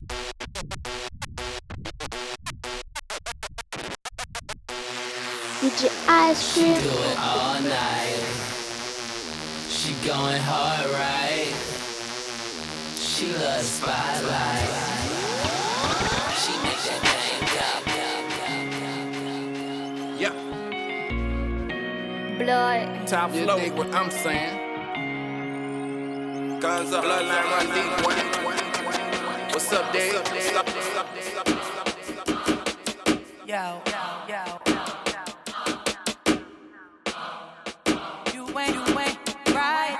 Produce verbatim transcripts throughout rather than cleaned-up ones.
D J Ice Cream. She do it all night. She going hard, right? She love the spotlight. She make that thing go. Yeah. Blood. Top flow, dig what I'm saying. Guns up, bloodline run deep, boy. What's up, Dave? Yo, yo, yo. You ain't, you ain't right.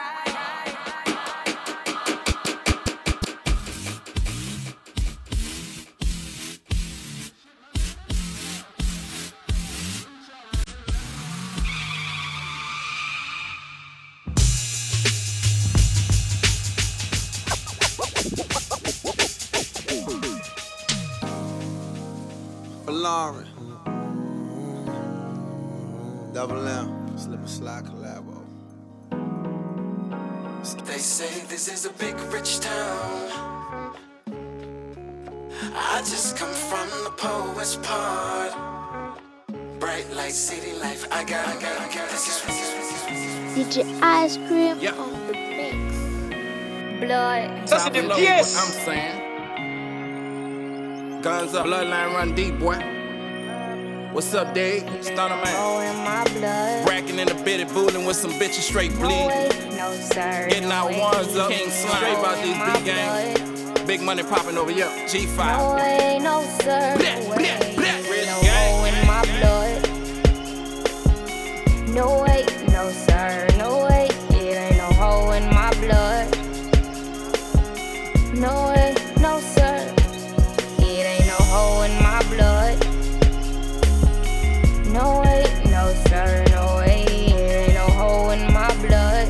Lauren, Double M, Slip and Slide collabo. They say this is a big rich town. I just come from the poet's part. Bright light, city life. I got, I got, I got. This is D J Ice Cream Yeah. on the mix. Blood. Top flow, yes. What I'm saying. Guns up, bloodline run deep, boy. What's up, Dave? Stunner man. Oh, in my blood. Bracking in the bitty, booling with some bitches straight No bleed. way, no sir. Getting no out way. ones up, King Slime. Straight about these My big games. Big money popping over here. G five. No way, no sir. Bleh, No way. bleh, bleh. Rich No gang. hoe in my blood. No way, no sir. No way. It ain't no hoe in my blood. No way, no sir. It ain't no hoe in my blood. No way, no sir. No way. It ain't no hoe in my blood.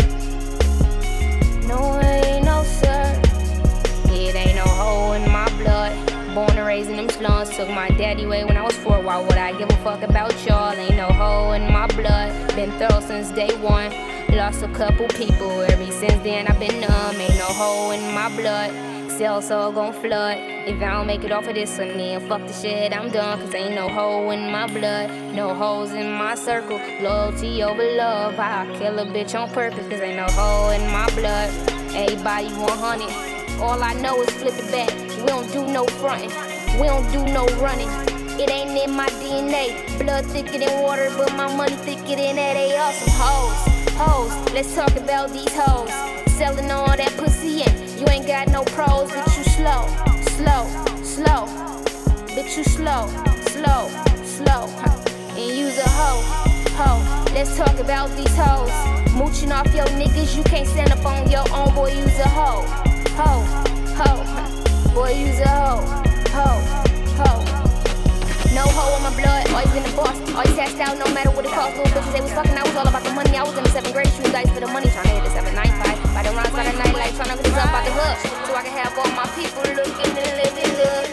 No way, no sir. It ain't no hoe in my blood. Born and raised in them slums. Took my daddy away when I was four. Why would I give a fuck about y'all? Ain't no hoe in my blood. Been thorough since day one. Lost a couple people. Ever since then I've been numb. Ain't no hoe in my blood. Cell soul gon' flood. If I don't make it off of this one, then fuck the shit, I'm done. Cause ain't no hoe in my blood. No hoes in my circle. Loyalty over love. I'll kill a bitch on purpose. Cause ain't no hoe in my blood. Everybody one hundred. All I know is flip it back. We don't do no frontin'. We don't do no running. It ain't in my D N A. Blood thicker than water, but my money thicker than that. They all some hoes. Hoes, let's talk about these hoes. Selling all that pussy in. You ain't got no pros, but you slow, slow, slow. But you slow, slow, slow. And you's a hoe, hoe. Let's talk about these hoes. Mooching off your niggas, you can't stand up on your own. Boy, you's a hoe, hoe, hoe. Boy, you's a hoe, hoe, hoe. No hoe in my blood, always been the boss. Always cashed out, no matter what it cost. Little bitches, they was fucking, I was all about the money. I was in the seventh grade, shooting dice for the money. Trying to hit the seven nine five. By the runs by the night light, trying to get this up out the hook. So I can have all my people looking and living good.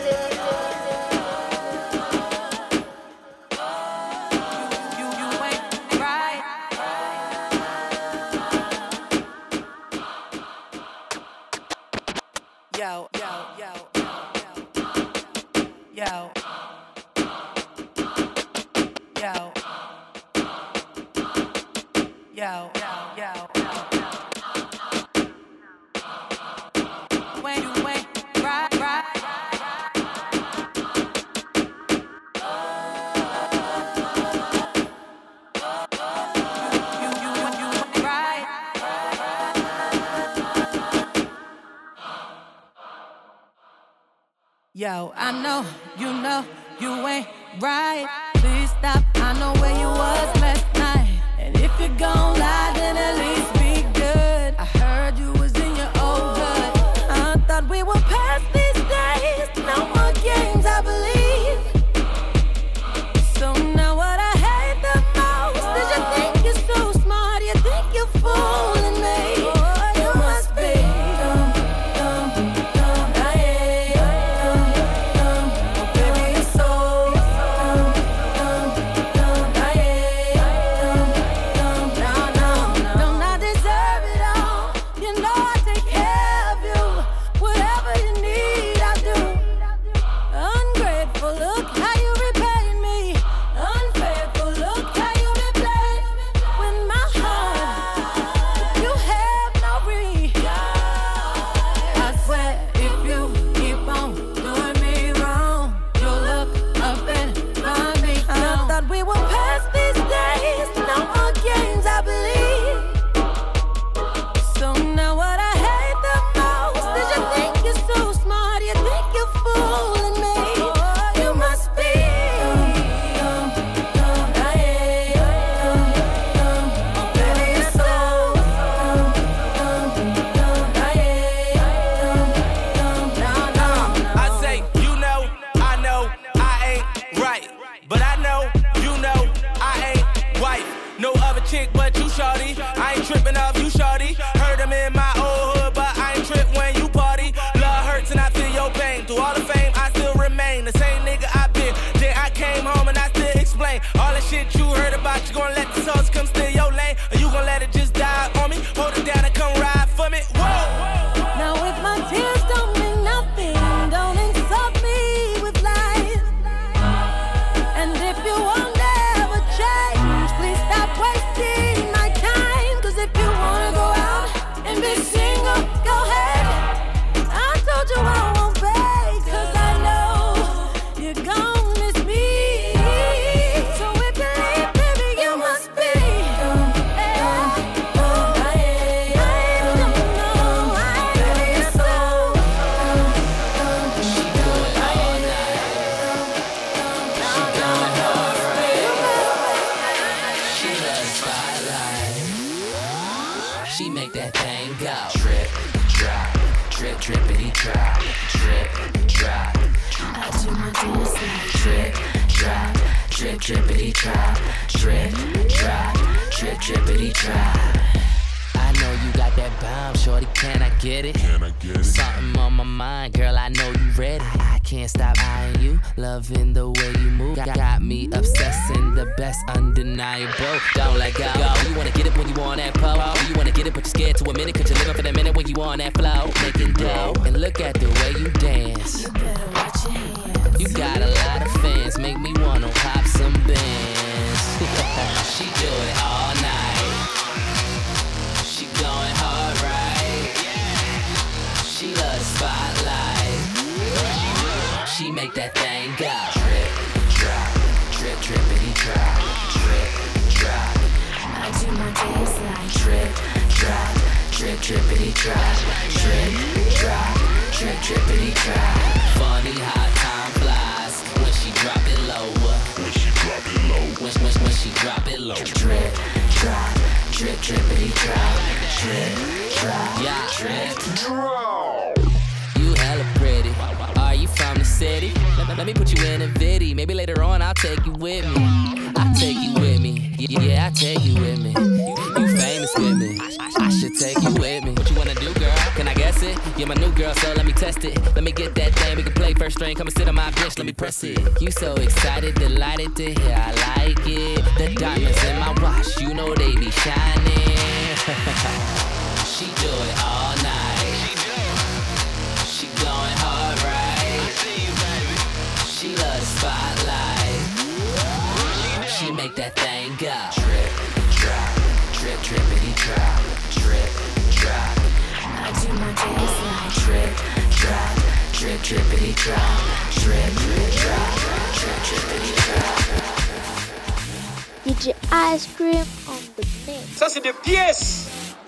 You, you ain't right. Yo, yo, yo, yo, yo. Yo, yo, yo, yo, yo. When you ain't right, right. You, you, you ain't right. Yo, I know, you know, you ain't right. Please stop, I know where you was last night. And if you're gon' lie, then at least be good. I heard you was in your old hood. I thought we were past these days. No more games, I believe. So now what I hate the most is you think you're so smart, you think you're fooling me. You must be dumb, dumb, dumb, I am dumb, dumb. Oh baby, you're so dumb, dumb, dumb, I am dumb, dumb. No, no, no. Don't I deserve it all? You know I take care of you. Whatever you need, drippity drop, drip, drop, drip, drippity drop. I know you got that bomb, shorty, can I get it? Can I get it? Something on my mind, girl, I know you ready. I can't stop eyeing you, loving the way you move. Got, got me obsessing, the best undeniable. Don't let go. Go. You wanna get it when you on that pole. You wanna get it, but you're scared to a minute, cause you're living for the minute when you on that flow. Making dough, and look at the way you dance. You better watch your hands. You got a lot of fans, make me wanna pop some bands. She do it all night. She going hard, right? She love the spotlight. She make that thing go. Drip, drop, drip, drippity drop. Drip, drop. I do my dance like Drip, drop, drip, drippity drop. Drip, drop, drip, drippity drop. Funny how time flies when she drop it lower. When she drop it low. When, when, when she drop it low. Drip, drop, drip, drippity drop. Drip, drop, yeah, drip, drop. You hella pretty. Are you from the city? Let, let me put you in a viddy. Maybe later on I'll take you with me. I'll take you with me. Yeah, yeah, I'll take you with me. You, you famous with me. I, I should take you with me. What you wanna do, girl? Can I guess it? You're my new girl, so let me test it. Let me get that thing. We can play first string. Come and sit on my bench. Let me press it. You so excited, delighted to hear I like it. The diamonds in my watch, you know they be shining. She do it all night. She going hard, right? She love the spotlight. She make that thing go. Drip, drop, drip, drippity drop. Drip, drop. I do my dance like Drip, drop, drip, drippity drop. Drip, drip, drop, drip, drippity drop. D J Ice Cream on the mix. Ça c'est des pièces.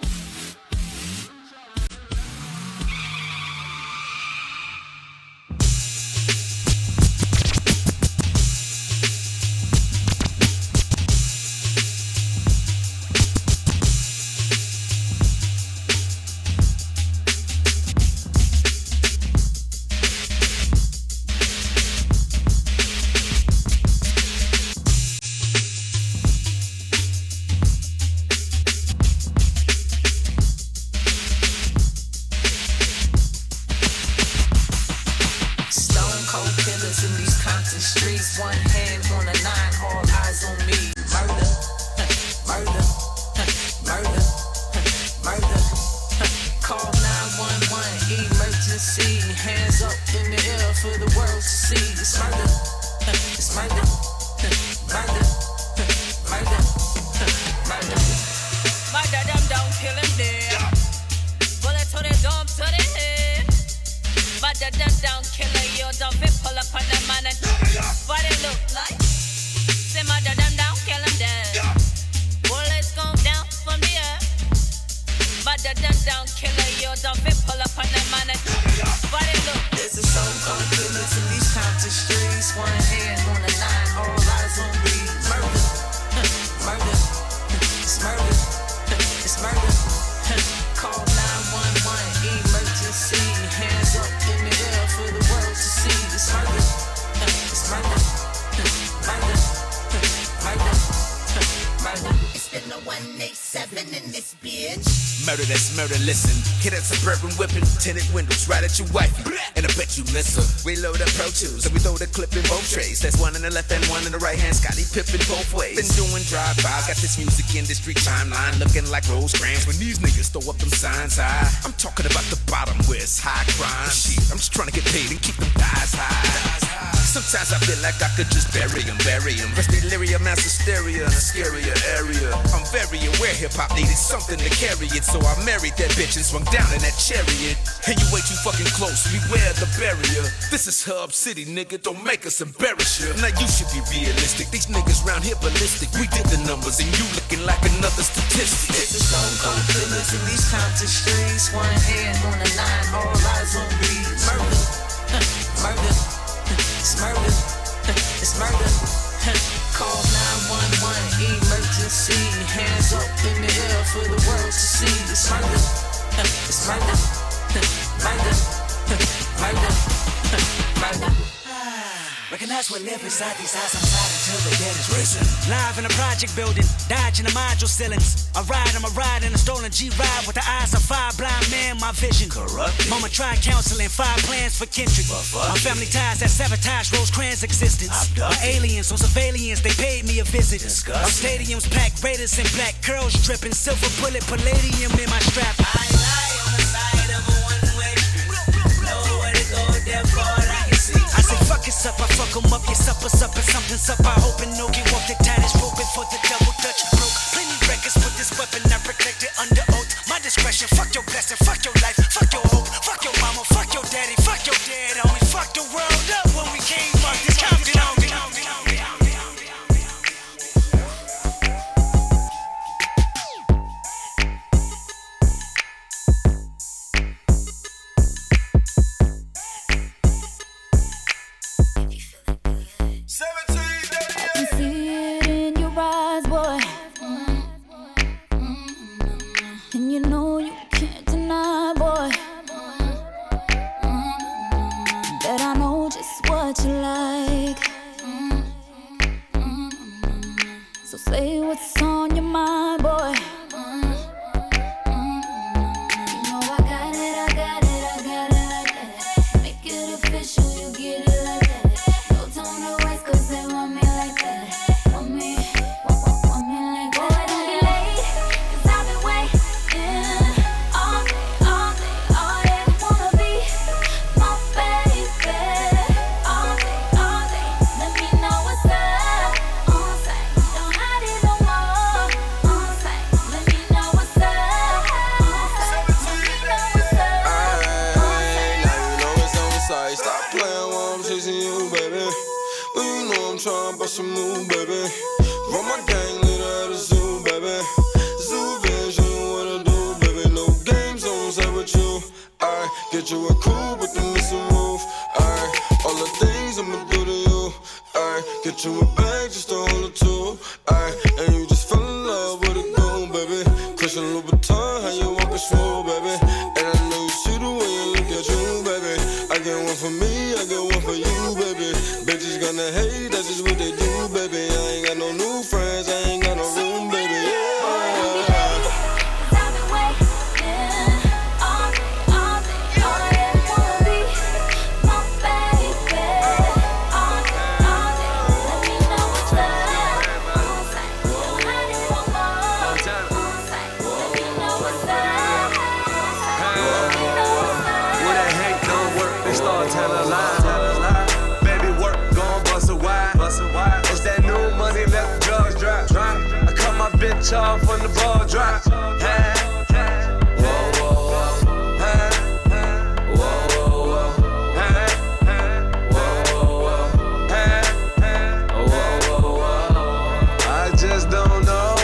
Murder, that's murder, listen. Hit that suburban whipping, tinted windows right at your wifey. And I bet you miss her. We load up Pro Tools, and we throw the clip in both trays. That's one in the left and one in the right hand. Scotty Pippen both ways. Been doing drive-by, got this music industry timeline looking like Rosecrans when these niggas throw up them signs high. I'm talking about the bottom where it's high crime. Shit, I'm just trying to get paid and keep them thighs high. Sometimes I feel like I could just bury him, bury him. Rest delirium, mass hysteria in a scarier area. I'm very aware hip-hop needed something to carry it, so I married that bitch and swung down in that chariot. And you way too fucking close, beware the barrier. This is Hub City, nigga, don't make us embarrass you. Now you should be realistic, these niggas round here ballistic. We did the numbers and you looking like another statistic. It's a stone cold killers in these Compton streets. One hand on the nine, all eyes on me. Murder, murder, it's murder, it's murder. Call nine one one, emergency. Hands up in the air for the world to see. It's murder, it's murder, murder, murder, murder. Like recognize what live inside these eyes. I'm tired until the dead is risen. Live in a project building, dodging the module ceilings. I ride, I'm a ride in a stolen G-Ride with the eyes of five blind men, my vision. Corrupted. Mama tried counseling, five plans for Kendrick. My family ties that sabotage Rosecrans' existence. My aliens on surveillance, they paid me a visit. Disgusting. Our stadiums packed, Raiders in black, curls dripping, silver bullet, palladium in my strap. I lie on the side of a one-way. Nowhere to go, therefore I can see. I say fuck it's up, I fuck 'em up, your supper's up and something's up. I hope and no get walk the tightest rope before the double dutch broke. Plenty records with this weapon, I protect it under oath. My discretion, fuck your blessing, fuck your life, fuck your hope, fuck your mama, fuck your daddy, fuck your dad, homie, fuck the world up when we came up. This counting on me. Off on the ball drop. Hey, hey. Whoa, whoa, whoa. Hey, hey. Whoa, whoa, whoa. Hey, hey. Whoa, whoa, whoa. Hey, hey. Whoa, whoa, whoa. I just don't know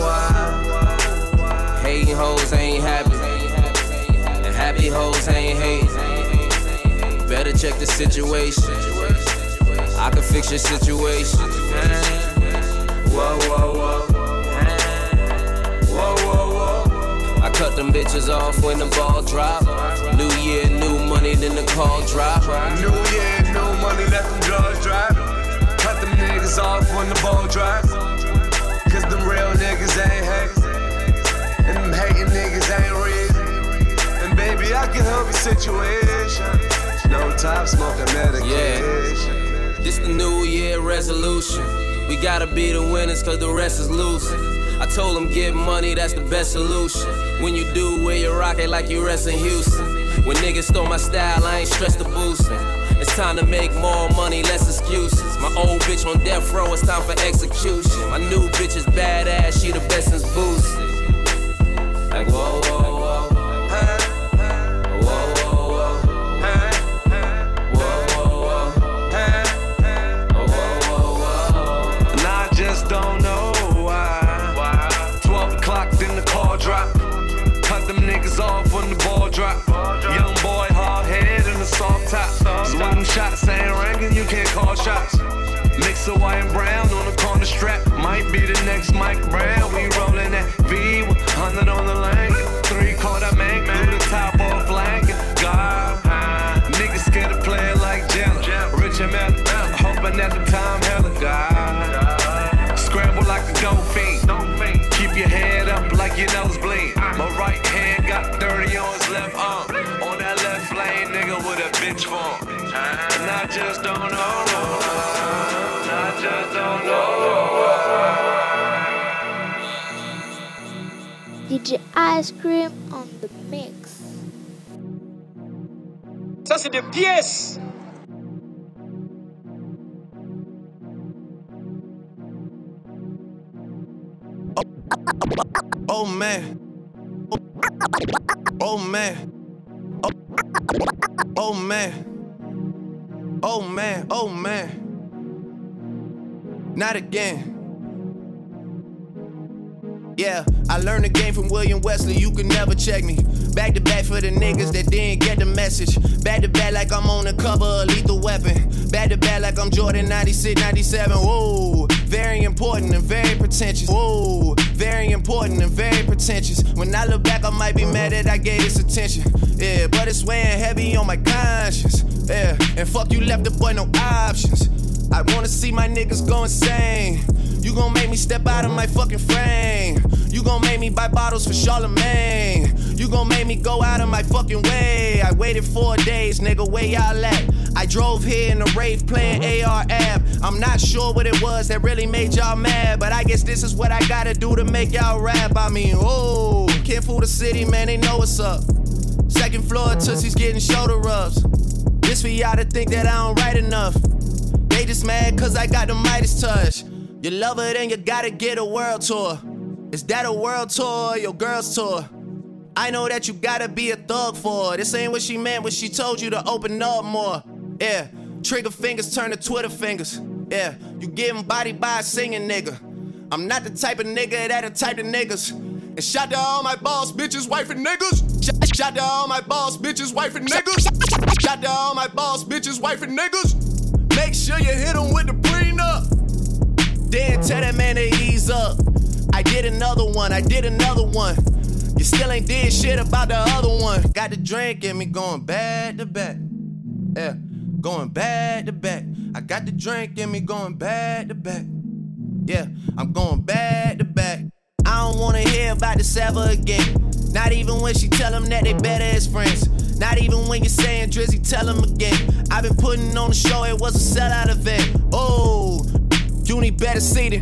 why. Hating hoes ain't happy, and happy hoes ain't hating. Better check the situation. I can fix your situation. Whoa, whoa, whoa. Whoa, whoa, whoa. I cut them bitches off when the ball drop. New year, new money, then the call drop. New year, new money, let them drugs drop. Cut them niggas off when the ball drop. Cause them real niggas ain't hate. And them hating niggas ain't real. And baby, I can help your situation. No top smoking medication. Yeah. This the new year resolution. We gotta be the winners cause the rest is losing. I told him get money, that's the best solution. When you do, wear your rocket like you rest in Houston. When niggas stole my style, I ain't stressed the boosting. It's time to make more money, less excuses. My old bitch on death row, it's time for execution. My new bitch is badass, she the best since boosting. Like whoa, whoa, whoa. Don't know why. why. twelve o'clock, then the call drop. Cut them niggas off when the ball drop. Ball drop. Young boy, hard head and a soft top. Soft so when them shots ain't ringing, you can't call shots. Mix of white and brown on the corner strap. Might be the next Mike Brown. We rollin' that V with one hundred on the lane. Three quarter man, glue the top off flank. God, uh, niggas scared to play it like Jenna. Rich and Mel, hoping that bitch for him. And I just don't know. I just don't know. D J Ice Cream on the mix. Ça c'est des pièces. Oh man. Oh man. Oh, oh man. Oh man. Oh man. Not again. Yeah, I learned the game from William Wesley, you can never check me. Back to back for the niggas that didn't get the message. Back to back like I'm on the cover of Lethal Weapon. Back to back like I'm Jordan ninety-six, ninety-seven. Whoa, very important and very pretentious. Whoa, very important and very pretentious. When I look back, I might be mad that I gave this attention. Yeah, but it's weighing heavy on my conscience. Yeah, and fuck you left the boy no options. I wanna see my niggas go insane. You gon' make me step out of my fucking frame. You gon' make me buy bottles for Charlemagne. You gon' make me go out of my fucking way. I waited four days, nigga, where y'all at? I drove here in a rave playing A R app. I'm not sure what it was that really made y'all mad, but I guess this is what I gotta do to make y'all rap. I mean, oh, can't fool the city, man, they know what's up. Second floor, Tootsie's getting shoulder rubs. This for y'all to think that I don't write enough. They just mad cause I got the Midas touch. You love her, then you gotta get a world tour. Is that a world tour or your girl's tour? I know that you gotta be a thug for her. This ain't what she meant when she told you to open up more. Yeah, trigger fingers turn to Twitter fingers. Yeah, you getting body by a singing nigga. I'm not the type of nigga that a type of niggas. And shout to all my boss bitches, wife and niggas. Shout, shout to all my boss bitches, wife and niggas. Shout to all my boss bitches, wife and niggas. Make sure you hit them with the prenup. Then tell that man to ease up. I did another one, I did another one. You still ain't did shit about the other one. Got the drink in me going back to back. Yeah, going back to back. I got the drink in me going back to back. Yeah, I'm going back to back. I don't wanna hear about this ever again. Not even when she tell them that they better as friends. Not even when you're saying Drizzy, tell them again. I've been putting on the show, it was a sellout event. Oh, you need better seating.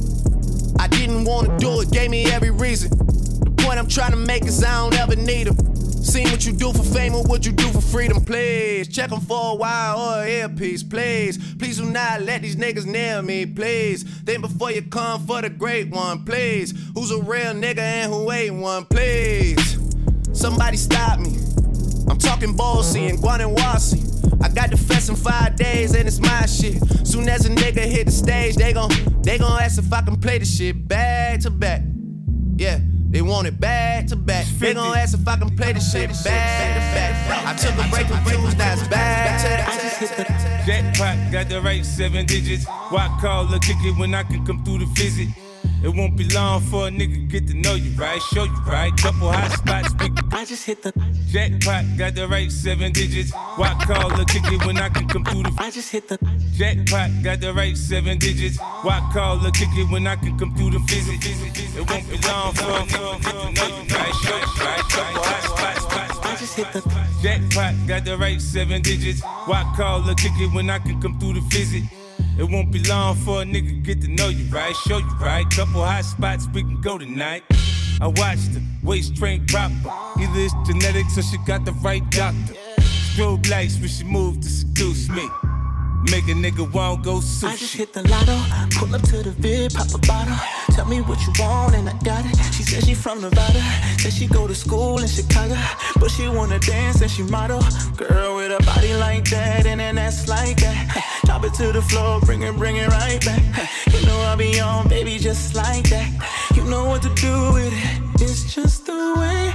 I didn't wanna do it, gave me every reason. The point I'm trying to make is I don't ever need them. Seen what you do for fame or what you do for freedom, please. Check them for a while or an earpiece, please. Please do not let these niggas near me, please. Think before you come for the great one, please. Who's a real nigga and who ain't one, please. Somebody stop me. I'm talking Bossy and Guanawasi. I got the fest in five days and it's my shit. Soon as a nigga hit the stage, they gon' they gon' ask if I can play the shit back to back. Yeah, they want it back to back. They gon' ask if I can play the shit back to back. I took a break from views, now it's back to the jackpot, got the right seven digits. Why call or kick it when I can come through the visit? It won't be long for a nigga get to know you, right? Show you, right? Couple hot spots, we can I just hit the jackpot, got the right seven digits. Why call or kick it when I can come through the I just hit the jackpot, got the right seven digits. Why call or kick it when I can come through the visit? It won't be long for a nigga get to know you, right? Show you, right? Couple hot spots, I just hit the jackpot, got the right seven digits. Why call or kick it when I can come through the visit? It won't be long for a nigga get to know you, right? Show you, right? Couple hot spots, we can go tonight. I watched her, waist train proper. Either it's genetics or she got the right doctor. Strobe lights when she moved to seduce me. Make a nigga won't go sushi. I just hit the lotto, pull up to the vid, pop a bottle. Tell me what you want and I got it. She said she from Nevada, said she go to school in Chicago, but she wanna dance and she model. Girl with a body like that and an ass like that. Drop it to the floor, bring it, bring it right back. You know I'll be on, baby, just like that. You know what to do with it. It's just the way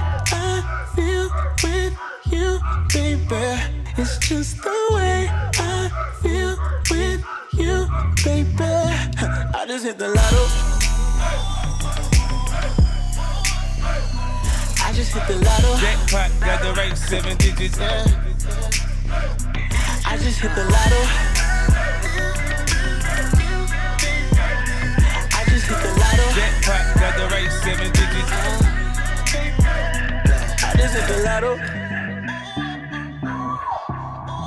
I feel with you, baby. It's just the way I feel with you, baby. I just hit the lotto. I just hit the lotto. Jackpot, got the right seven digits. Yeah. I just hit the lotto. I just hit the lotto. Jackpot, got the right seven digits. I just hit the lotto.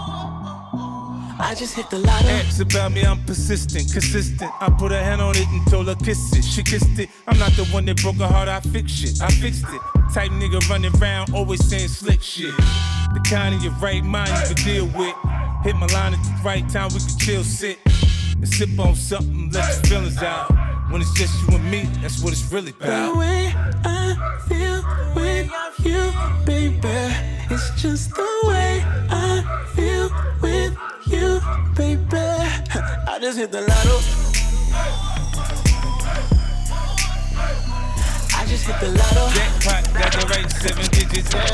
I just hit the lotto. Ask about me, I'm persistent, consistent. I put a hand on it and told her kiss it. She kissed it. I'm not the one that broke her heart, I fixed shit. I fixed it. Type nigga running around, always saying slick shit. The kind of your right mind you can deal with. Hit my line at the right time, we can chill, sit and sip on something, let your feelings out. When it's just you and me, that's what it's really about. The way I feel with you, baby, it's just the way I feel with you, baby. I just hit the lotto. I just hit the lotto. Jackpot, got the right seven digits. Yeah.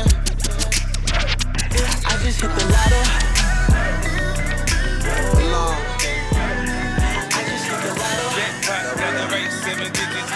I just hit the lotto. Long. I just hit the lotto. Jackpot, got the right seven digits.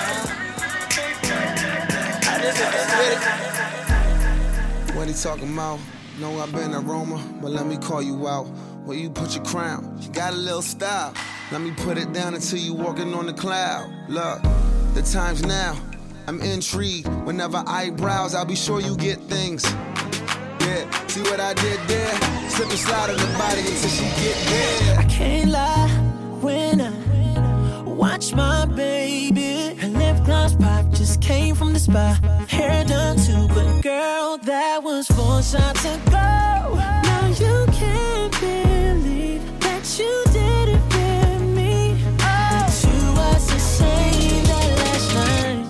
I just hit the lotto. What he talking about? Know I've been a Roma, but let me call you out. Where you put your crown? You got a little style. Let me put it down until you walking on the cloud. Look, the time's now. I'm intrigued. Whenever I browse, I'll be sure you get things. Yeah, see what I did there? Slip and slide on the body until she get there. I can't lie when I watch my baby. Her lip gloss pop just came from the spa. Hair done too, but girl, that was four shots ago. Now you can't believe that you did it with me. Oh, you was the same that last night.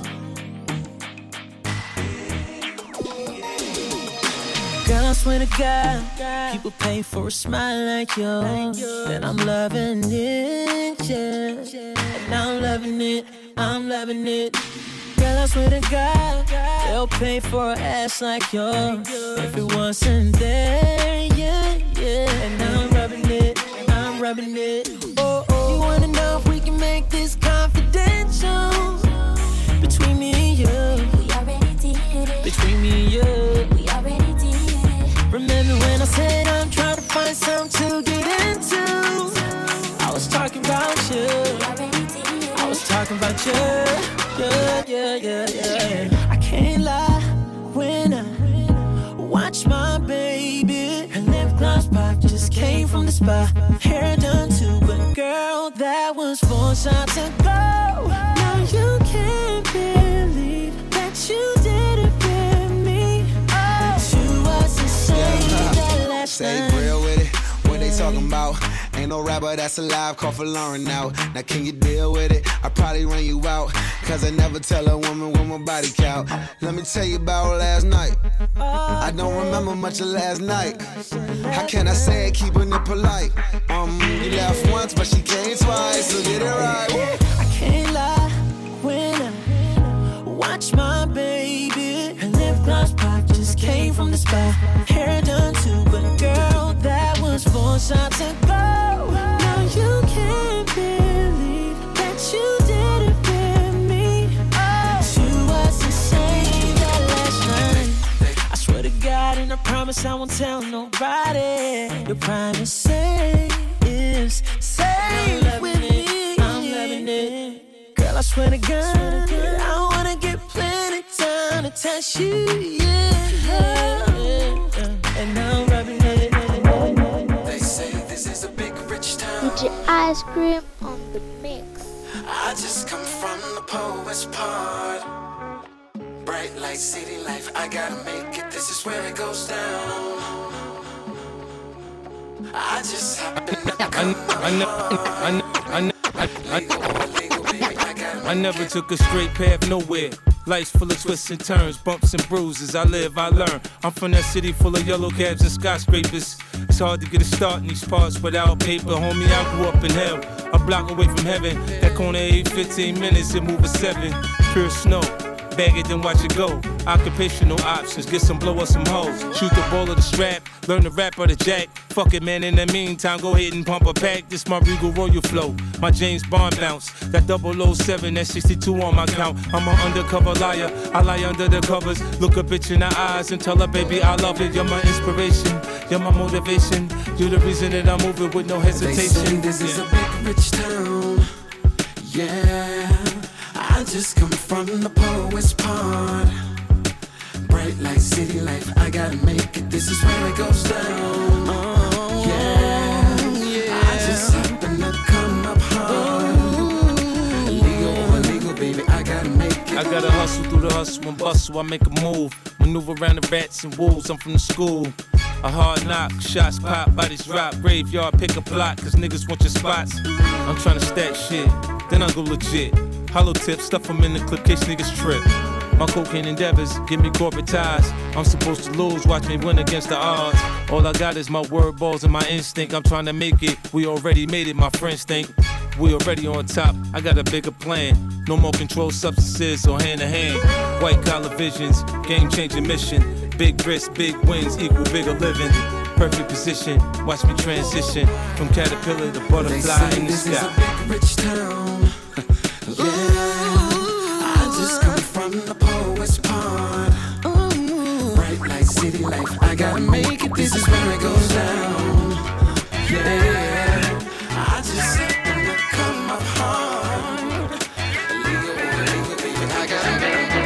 Girl, I swear to God, people pay for a smile like yours. And I'm loving it, yeah. And I'm loving it, I'm loving it. Girl, I swear to God, they'll pay for an ass like yours if it wasn't there, yeah, yeah. And I'm rubbing it, I'm rubbing it. Oh, oh. You wanna know if we can make this confidential? Between me and you, we already did it. Between me and you, we already did it. Remember when I said I'm trying to find something to get into? I was talking about you. We already did it. I was talking about you. Yeah, yeah, yeah, yeah. I can't lie when I watch my baby. Her lip gloss pop just came from the spa. Hair done too, but girl, that was four shots ago. Now you can't believe that you did it with me. Oh, you was the same that last night. Say real with it. What they talking about? Ain't no rapper that's alive, call for Lauren now. Now can you deal with it? I probably run you out, cause I never tell a woman with my body count. Let me tell you about last night. I don't remember much of last night. How can I say it, keeping it polite? Um, you laughed once, but she came twice, so get it right. I can't lie when I watch my baby. Her lip gloss pop just came from the spa. Hair done too, but girl, that was four shots ago. Now you can't believe that you did it with me. Oh, you was the same that last night. I swear to God and I promise I won't tell nobody. Your promise say is safe with me. I'm loving it. Girl, I swear to God, I wanna get plenty time to touch you, yeah, yeah, yeah. And I'm rubbing it. They say this is a big rich town. D J Ice Cream on the mix. I just come from the poet's part. Bright light, city life, I gotta make it. This is where it goes down. I just happen to come I I never took a straight path nowhere. Life's full of twists and turns, bumps and bruises. I live, I learn. I'm from that city full of yellow cabs and skyscrapers. It's hard to get a start in these parts without paper. Homie, I grew up in hell, a block away from heaven. That corner eight, fifteen minutes, it move a seven. Pure snow. Bag it, then watch it go. Occupational options, get some blow or some hoes. Shoot the ball or the strap, learn the rap or the jack. Fuck it, man, in the meantime, go ahead and pump a pack. This my Regal Royal flow, my James Bond bounce. That double oh seven, that sixty-two on my count. I'm an undercover liar, I lie under the covers. Look a bitch in the eyes and tell her, baby, I love it. You're my inspiration, you're my motivation. You're the reason that I'm moving with no hesitation. They say this is a big rich town, yeah. I just come from the poet's part. Bright light, city life, I gotta make it. This is where it goes down. Oh, yeah, yeah. hustle, through the hustle and bustle, I make a move. Maneuver around the rats and wolves, I'm from the school. A hard knock, shots pop, bodies drop. Graveyard, pick a plot, cause niggas want your spots. I'm tryna stack shit, then I go legit. Hollow tips, stuff them in the clip, case niggas trip. My cocaine endeavors give me corporate ties. I'm supposed to lose, watch me win against the odds. All I got is my word balls and my instinct. I'm trying to make it, we already made it, my friends think. We already on top, I got a bigger plan. No more controlled substances or hand to hand. White collar visions, game changing mission. Big risks, big wins equal bigger living. Perfect position, watch me transition from caterpillar to butterfly in the this sky. Is a big rich town. Yeah, I just come from the poet's pond. Bright light, city life, I gotta make it. This is where it goes down. Yeah, I just happen to come up hard. Legal, legal, legal, I gotta make it.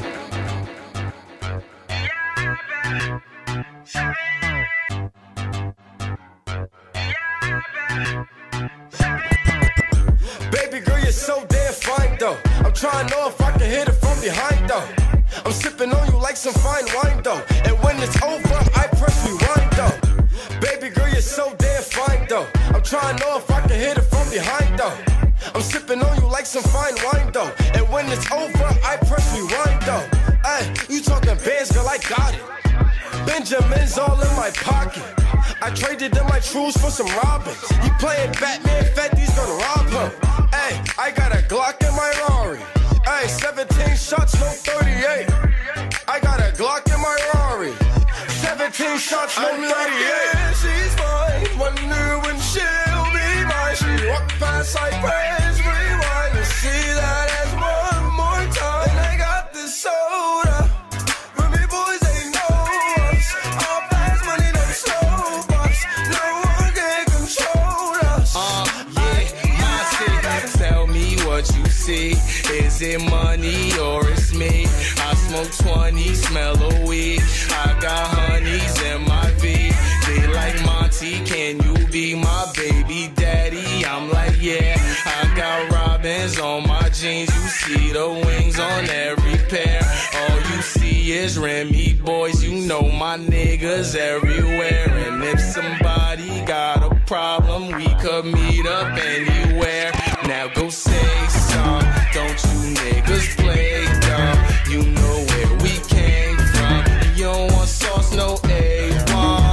Baby girl, you're so damn fine though. I'm trying to know if I can hit it from behind though. I'm sipping on you like some fine wine though. And when it's over, I press rewind though. Baby girl, you're so damn fine though. I'm trying to know if I can hit it from behind though. I'm sipping on you like some fine wine though. And when it's over, I press rewind though. Ay, you talking bands, girl, I got it. Benjamin's all in my pocket. I traded in my trues for some robins. He playing Batman, Fetty's gonna rob him. Ay, I got a Glock in my Rari. Ay, seventeen shots, no thirty-eight. I got a Glock in my Rari. seventeen shots, no thirty-eight. Yeah, she's mine. Wonder when she'll be mine. She walk past like praise, rewind and see that as one more time. And I got this soda. When me boys ain't know us. All fast money, them slow bucks. No one can control us. Uh, yeah, my city. Tell me what you see. Is it money or it's me? I smoke twenty, smell a weed. I got honeys in my V. They like Monty, can you be my baby daddy? I'm like, yeah. I got robins on my jeans. You see the wings on every pair. All you see is Remy boys. You know my niggas everywhere. And if somebody got a problem, we could meet up anywhere. Now go say some. Don't you niggas play dumb. You know where we came from. You don't want sauce, no A one.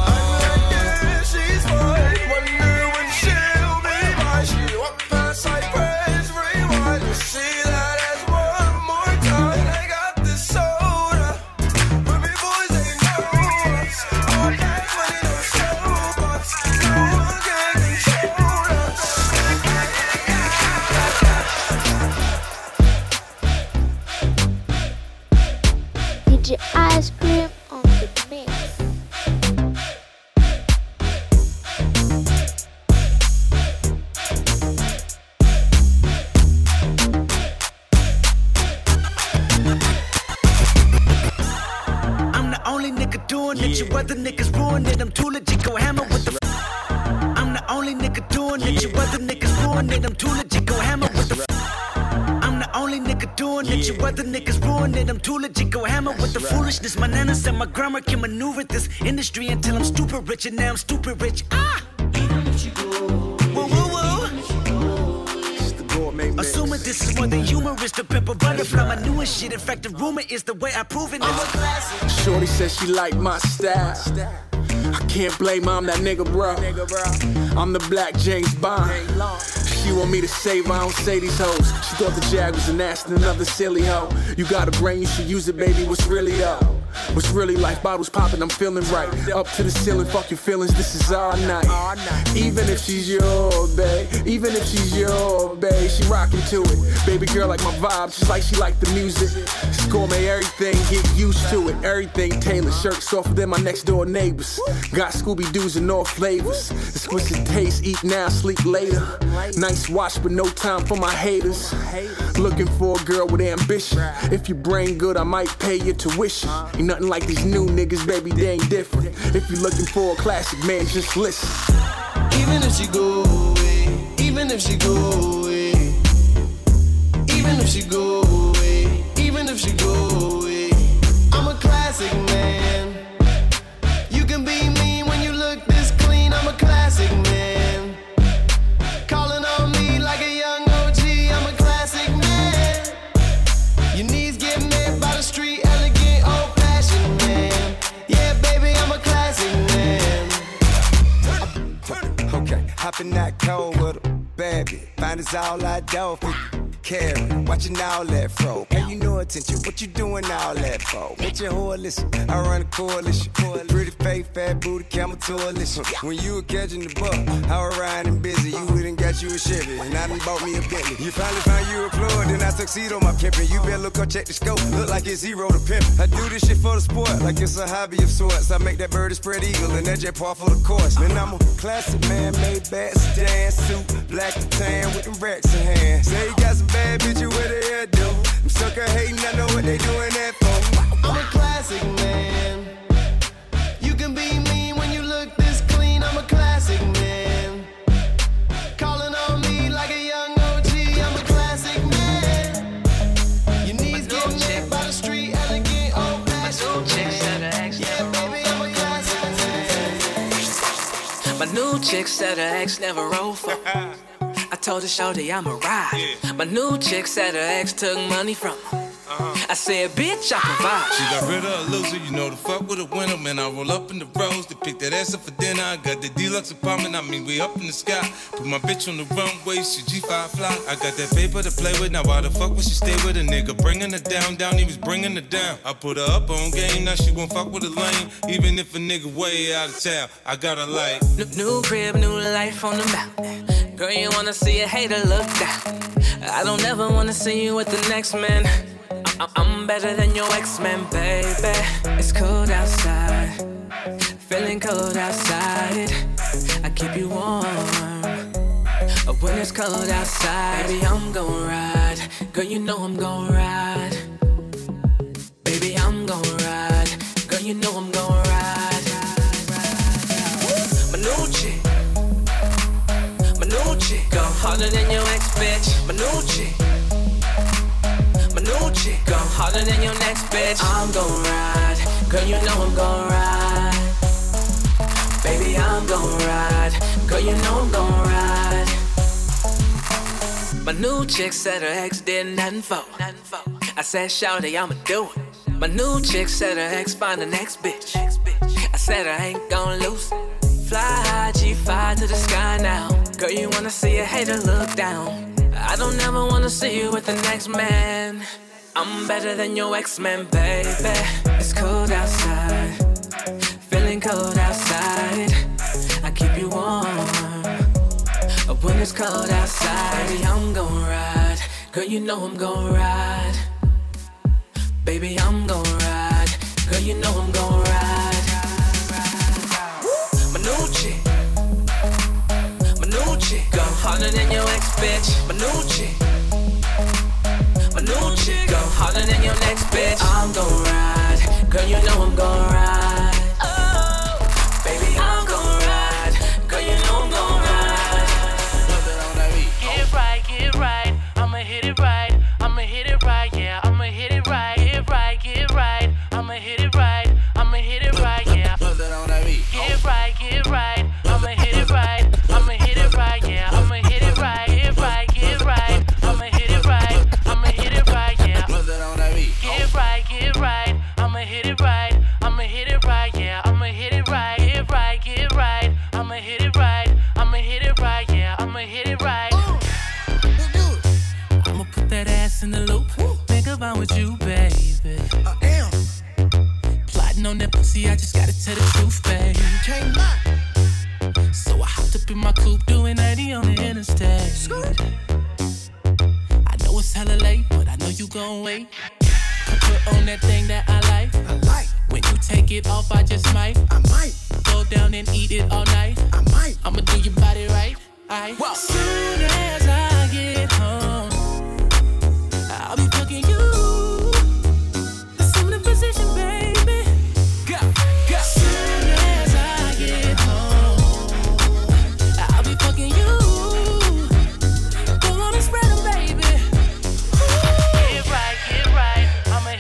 D J Ice Cream on the mix. I'm the only nigga doing it. Your other niggas ruin it. I'm too legit, go hammer with the. I'm the only nigga doing it. Your other niggas ruin it. I'm too legit, go hammer with the. I'm the only nigga doing it. Your other niggas ruin it. I'm too legit, go hammer with the foolishness. My nana said my grandma can maneuver this industry until I'm stupid rich, and now I'm stupid rich. Ah! Whoa, whoa, whoa. Assuming this is more than humorous, the pimple butterfly, my newest shit. In fact, the rumor is the way I prove it. Uh, Shorty says she like my style. I can't blame her, I'm that nigga, bro. I'm the black James Bond. She want me to save her, I don't say these hoes. She thought the Jag was an ass and another silly hoe. You got a brain, you should use it, baby. What's really though? What's really life? Bottles popping, I'm feeling right. Up to the ceiling, fuck your feelings, this is our night. Even if she's your babe, even if she's your babe, she rockin' to it. Baby girl like my vibe, just like she like the music. Gourmet everything, get used to it. Everything tailored, shirts softer than my next door neighbors. Got Scooby-Doo's in all flavors. Exquisite taste, eat now, sleep later. Nice watch, but no time for my haters. Looking for a girl with ambition. If your brain good, I might pay your tuition. Ain't nothing like these new niggas, baby, they ain't different. If you're looking for a classic, man, just listen. Even if she go away, even if she go away, even if she go away, even if she go away. I'm a classic man. You can be mean when you look this clean. I'm a classic man. Calling on me like a young O G. I'm a classic man. Your knees get met by the street, elegant, old-fashioned man. Yeah, baby, I'm a classic man. Okay, hop in that cold with a bad bitch. Find us all I do for carry. Watching all that fro. Pay you no attention. What you doing all that for? Bitch, your whore listen. I run a coalition. Pretty face, fat booty, camel coalition. When you were catching the buck, I was riding busy. You wouldn't got you a Chevy, and I done bought me a Bentley. You finally found you a plug, then I tuxedo my pimpin'. You better look up, check the scope. Look like it's zero to pimp. I do this shit for the sport, like it's a hobby of sorts. I make that bird a spread eagle, and that jet par for the course. Man, I'm a classic man, made bad sedan suit, black and tan with them racks in hand. Say you got some bad bitches with their hair do. I'm sucker hating, I know what they doing that for. I'm a classic man. You can be mean when you look this clean. I'm a classic man. Calling on me like a young O G. I'm a classic man. Your knees get met by the street, elegant, old-fashioned man. Yeah, baby, I'm a classic man. My new chick said her ex never rolled for. I told her shorty I'm a ride. Yeah. My new chick said her ex took money from her. Uh-huh. I said, bitch, I provide. She got rid of a loser, you know the fuck with a winner. Man, I roll up in the rose to pick that ass up for dinner. I got the deluxe apartment, I mean, we up in the sky. Put my bitch on the runway, she G five fly. I got that paper to play with, now why the fuck would she stay with a nigga? Bringing her down, down, he was bringing her down. I put her up on game, now she won't fuck with a lane. Even if a nigga way out of town, I got her like New, new crib, new life on the mountain. Girl, you wanna see a hater look down. I don't ever wanna see you with the next man. I- I'm better than your ex-man, baby. It's cold outside, feeling cold outside. I keep you warm when it's cold outside. Baby, I'm gon' ride. Girl, you know I'm gon' ride. Baby, I'm gon' ride. Girl, you know I'm gon' ride. My new chick, my new chick, go harder than your ex, bitch. My new chick, my new chick, go harder than your next bitch. I'm gon' ride, girl, you know I'm gon' ride. Baby, I'm gon' ride, girl, you know I'm gon' ride. My new chick said her ex did nothing for. I said, shawty, I'ma do it. My new chick said her ex find the next bitch. I said I ain't gon' lose. Fly high, G five to the sky now. Girl, you wanna see a hater look down. I don't ever wanna see you with the next man. I'm better than your ex-man, baby. It's cold outside, feeling cold outside. I keep you warm when it's cold outside. Baby, I'm gon' ride. Girl, you know I'm gon' ride. Baby, I'm gon' ride. Girl, you know I'm gon' ride. My new chick, my new chick, go harder than your ex, bitch. My new chick, my new chick, go harder than your next bitch. I'm gon' ride, girl, you know I'm gon' ride. Oh, baby, I'm gon' ride, girl, you know I'm gon' ride. Get right, get right, I'ma hit it right, I'ma hit it right, yeah, I'ma hit it right, get right, get right, I'ma hit it right, I'ma hit it right, yeah. Get right, get right, I'ma hit it right, I'ma hit it right, yeah, I'ma hit it right, get right, get right, I'ma hit it right, I'ma hit it right, yeah. Get right, get right, I'ma hit it right, I'ma hit it right, yeah, I'ma hit it right, get right, get right, I'ma hit it right, I'ma hit it right, yeah, I'ma hit it right. I'ma put that ass in the loop. Think about with you, baby. I am plotting on that pussy. I just gotta tell the truth, baby. Can't lie. So I hopped up in my coupe, doing ninety on the interstate. I know it's hella late, but I know you gon' wait. Put on that thing that I like. I like. When you take it off, I just might. I might go down and eat it all night. I might. I'ma do your body right. I. Well, soon as I get home, I'll be fucking you. Assume the position, baby. Go, go. Soon as I get home, I'll be fucking you. Go on and spread them, baby. Get right, get right, I'ma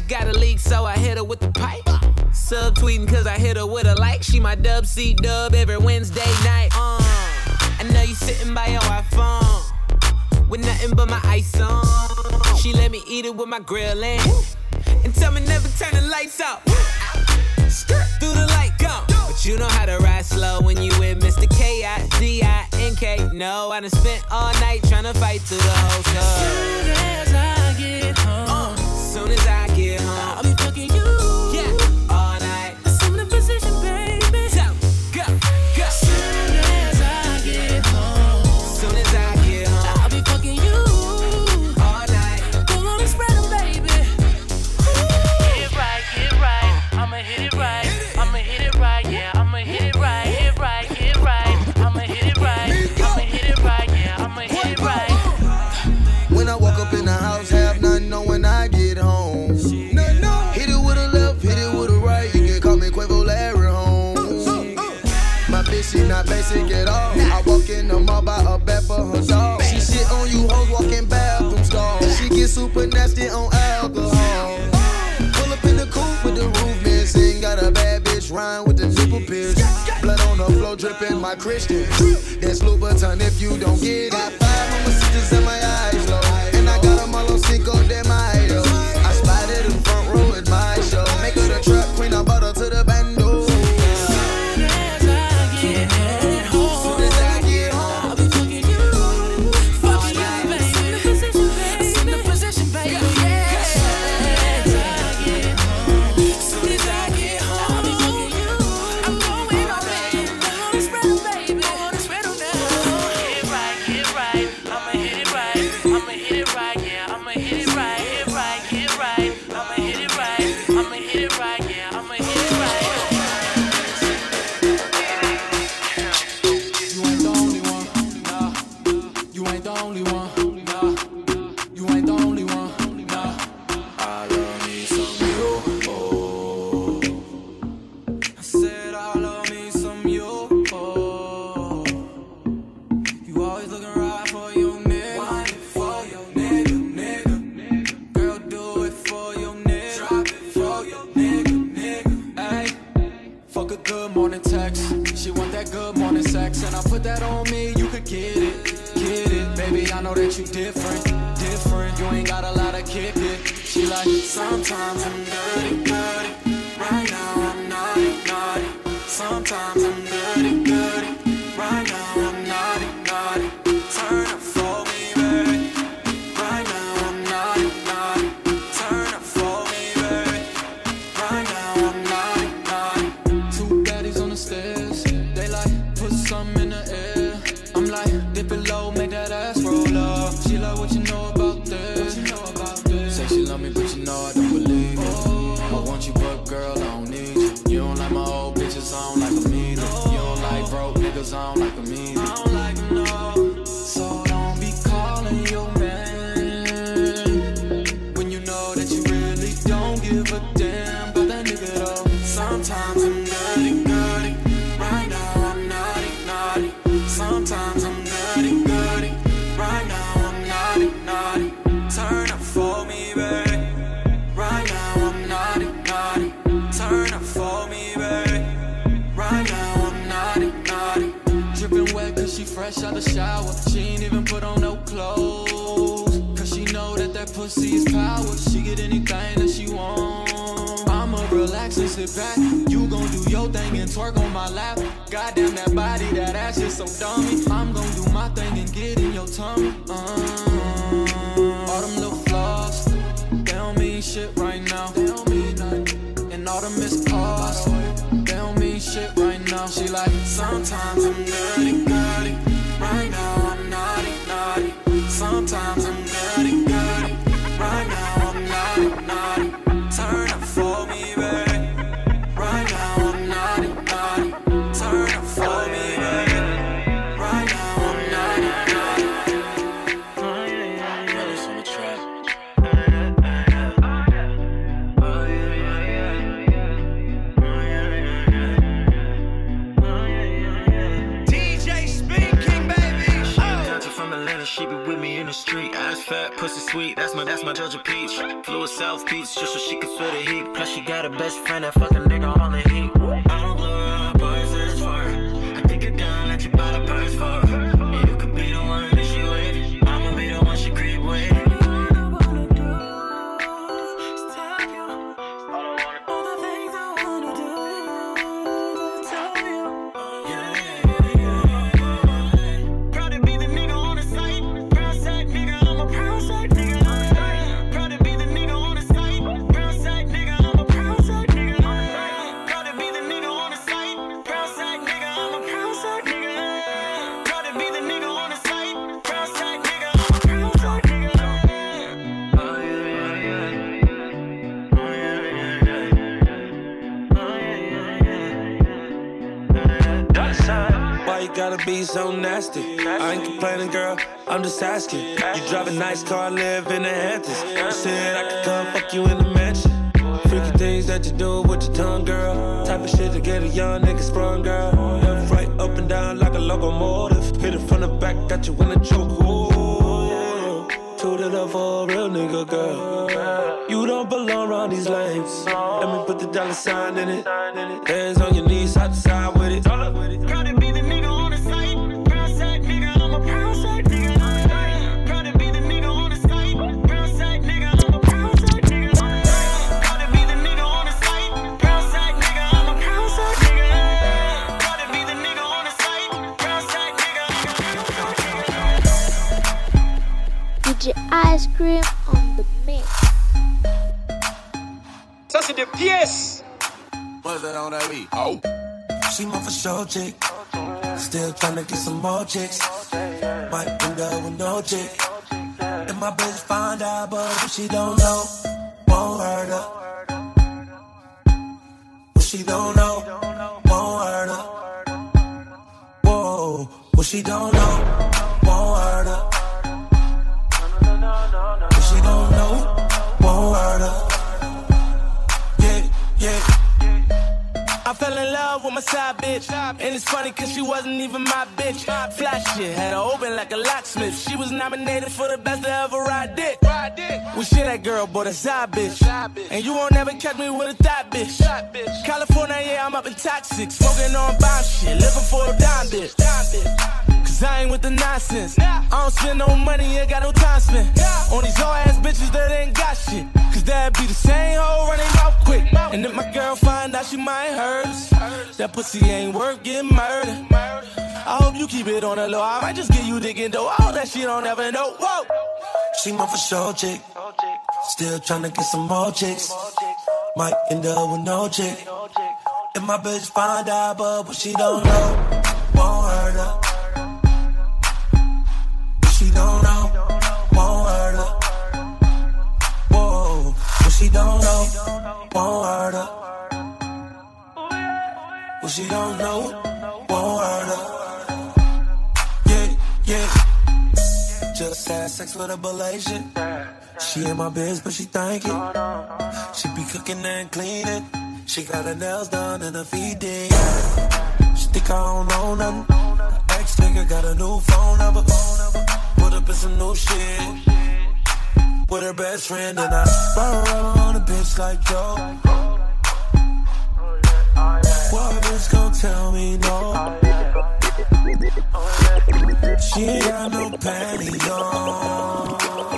got a leak, so I hit her with the pipe. Subtweeting cause I hit her with a like. She my dub C dub every Wednesday night. Uh, I know you sitting by your iPhone with nothing but my ice on. She let me eat it with my grill in and tell me never turn the lights out. Through the light go. But you know how to ride slow when you with Mister K I D I N K. No, I done spent all night trying to fight through the whole club. Soon as I get home, uh, soon as I get home, I'll be fucking you. Yeah, all night. Assume the position, baby. So, go, go. Soon as I get home, soon as I get home, I'll be fucking you. All night. Go on and spread them, baby. Get it right, get it right. I'ma hit it right. I'ma hit it right, yeah. I'ma hit it right. Hit it right, get it right. I'ma hit it right. I'ma hit it right, yeah. I'ma hit it right. When I walk up in the house, have nothing on when I get home. No, no. Hit it with a left, hit it with a right. You can call me Quavo Larry Holmes. My bitch, she not basic at all. I walk in the mall, buy a bed for her dog. She shit on you hoes, walking bathroom stalls. She get super nasty on alcohol. Pull up in the coupe with the roof missing. Got a bad bitch rhyme with the nipple pierced. Blood on the floor dripping my Christian. That's Louboutin if you don't get it. Got five mama sisters in my eyes low. And I got them all on Cinco de Mayo. I spotted in front row at my show. Make her the trap queen, I bought her to the bando. Soon as I get home, Soon as I get home, I'll be fucking you. Fucking you, baby. Assume the position, baby. Assume the position, baby. Yeah. Soon as I get home, soon as I get home, I'll be fucking you. I'm going all in. Go on and spread them, baby. Go on and spread them now. Get it right, get it right. I'ma hit it right. I'ma hit it right, yeah. I'ma hit it right. Hit it right, get it right. I'ma hit it right. I'ma hit it right, yeah. I'ma hit it right. You ain't the only one, nah. You ain't the only one, nah. You ain't the only one, nah. I love me some you, oh. I said I love me some you, oh. You always looking right for your nigga. Wind it for your nigga, nigga. Girl, do it for your nigga. Drop it for your nigga, nigga. Ay, fuck a good morning text. She want that good morning sex, and I put that on me. You could get it, get it, baby. I know that you different, different. You ain't got a lot of kick it. She like sometimes I'm dirty, dirty. Right now I'm naughty, naughty. Sometimes I'm dirty, dirty. Right now I'm naughty, naughty. Turn up for me, baby. Right now I'm naughty, naughty. Turn up for me, baby. Right now I'm naughty, naughty. Two daddies on the stairs. They like put something in the air. I'm like dip it low, make that ass roll up. She like what you know about this. What you know about this? Say she love me, but you know I don't believe it. I want you, but girl I don't need you. You don't like my old bitches, I don't like them either. You don't like broke niggas, I don't like them either. I don't like them, no. So don't be calling your man when you know that you really don't give a damn about that nigga though. Sometimes I'm dirty, dirty. Right now I'm naughty, naughty. Sometimes I'm dirty, dirty. Right now I'm naughty, naughty. Turn up for me, baby. Right now I'm naughty, naughty. Turn up for me, baby. Right now I'm naughty, naughty. Dripping wet cause she fresh out the shower. She ain't even put on no clothes. Cause she know that that pussy is power. She get anything that she want. I'ma relax and sit back. You gon' do your thing and twerk on my lap. Goddamn that body, that ass is so dummy. I'm gon' do my thing and get in your tummy. Uh, all them little flaws, they don't mean shit right now. They don't mean nothing. And all the missed calls, they don't mean shit right now. She like, sometimes I'm dirty, dirty. Right now I'm naughty, naughty. Sometimes I'm dirty, dirty. Right now I'm naughty, naughty. Turn up for me, baby. Right now I'm naughty, naughty. Turn up for me, baby. Right now I'm naughty, naughty. Brothers on the track. Oh yeah, yeah, yeah. Oh yeah, yeah, yeah. Oh yeah, yeah, yeah. Pussy sweet, that's my, that's my Georgia peach. Flew a South Beach just so she could feel the heat. Plus she got a best friend that fucking nigga on the heat. I don't blow her up or search for her. I take her down, let you buy the purse for her. You could be the one that she with. I'ma be the one she creep with. Gotta be so nasty. I ain't complaining, girl, I'm just asking. You drive a nice car, live in the Hamptons. You said I could come fuck you in the mansion. Freaky things that you do with your tongue, girl. Type of shit to get a young nigga sprung, girl. Left, right, up and down like a locomotive. Hit it from the back, got you in a choke. Ooh, toot it up for a real nigga, girl. You don't belong around these lanes. Let me put the dollar sign in it. Hands on your knees, side to side with it. Proud to be the nigga on the site. Proud side nigga, I'm a proud side nigga. Proud to be the nigga on the site. Proud side nigga, I'm a proud side nigga. Proud to be the nigga on the site. Proud side nigga, I'm a proud side nigga. Proud to be the nigga on the site. Proud side nigga, I'm a proud side nigga. D J Ice Cream on the mix. Ça c'est des pièces. What's that on that beat? Oh. She my for sure chick. Still tryna get some more chicks. Might end up with no chick. And my bitch find out, but if she don't know, won't hurt her. What she don't know, won't hurt her. Whoa, what she don't know, won't hurt her. What she don't know, won't hurt her. Yeah, yeah. I fell in love with my side bitch, and it's funny cause she wasn't even my bitch. Fly shit, had her open like a locksmith. She was nominated for the best to ever ride dick. We shit that girl, boy, a side bitch. And you won't never catch me with a thot bitch. California, yeah, I'm up in toxic. Smoking on bomb shit, living for a dime bitch. Cause I ain't with the nonsense. I don't spend no money, ain't got no time spent on these old ass bitches that ain't got shit. Cause that'd be the same hoe running mouth quick. And if my girl find out, she might hurt us. That pussy ain't worth getting murdered. I hope you keep it on the low. I might just get you digging though. All that shit I'll never know. Whoa. She my for sure chick. Still tryna get some more chicks. Might end up with no chick. If my bitch find out, but what she don't know, won't hurt her. What she don't know, won't hurt her. Whoa, what she don't know, won't hurt her. What she don't know, won't hurt her. Yeah, yeah. Just had sex with a Malaysian. She in my biz, but she thank it. She be cooking and cleaning. She got her nails done and her feet did. She think I don't know nothing. Her ex-nigga got a new phone number. Put up in some new shit with her best friend, and I brought her on a bitch like Joe. What bitch gon' tell me no? She ain't got no panties on.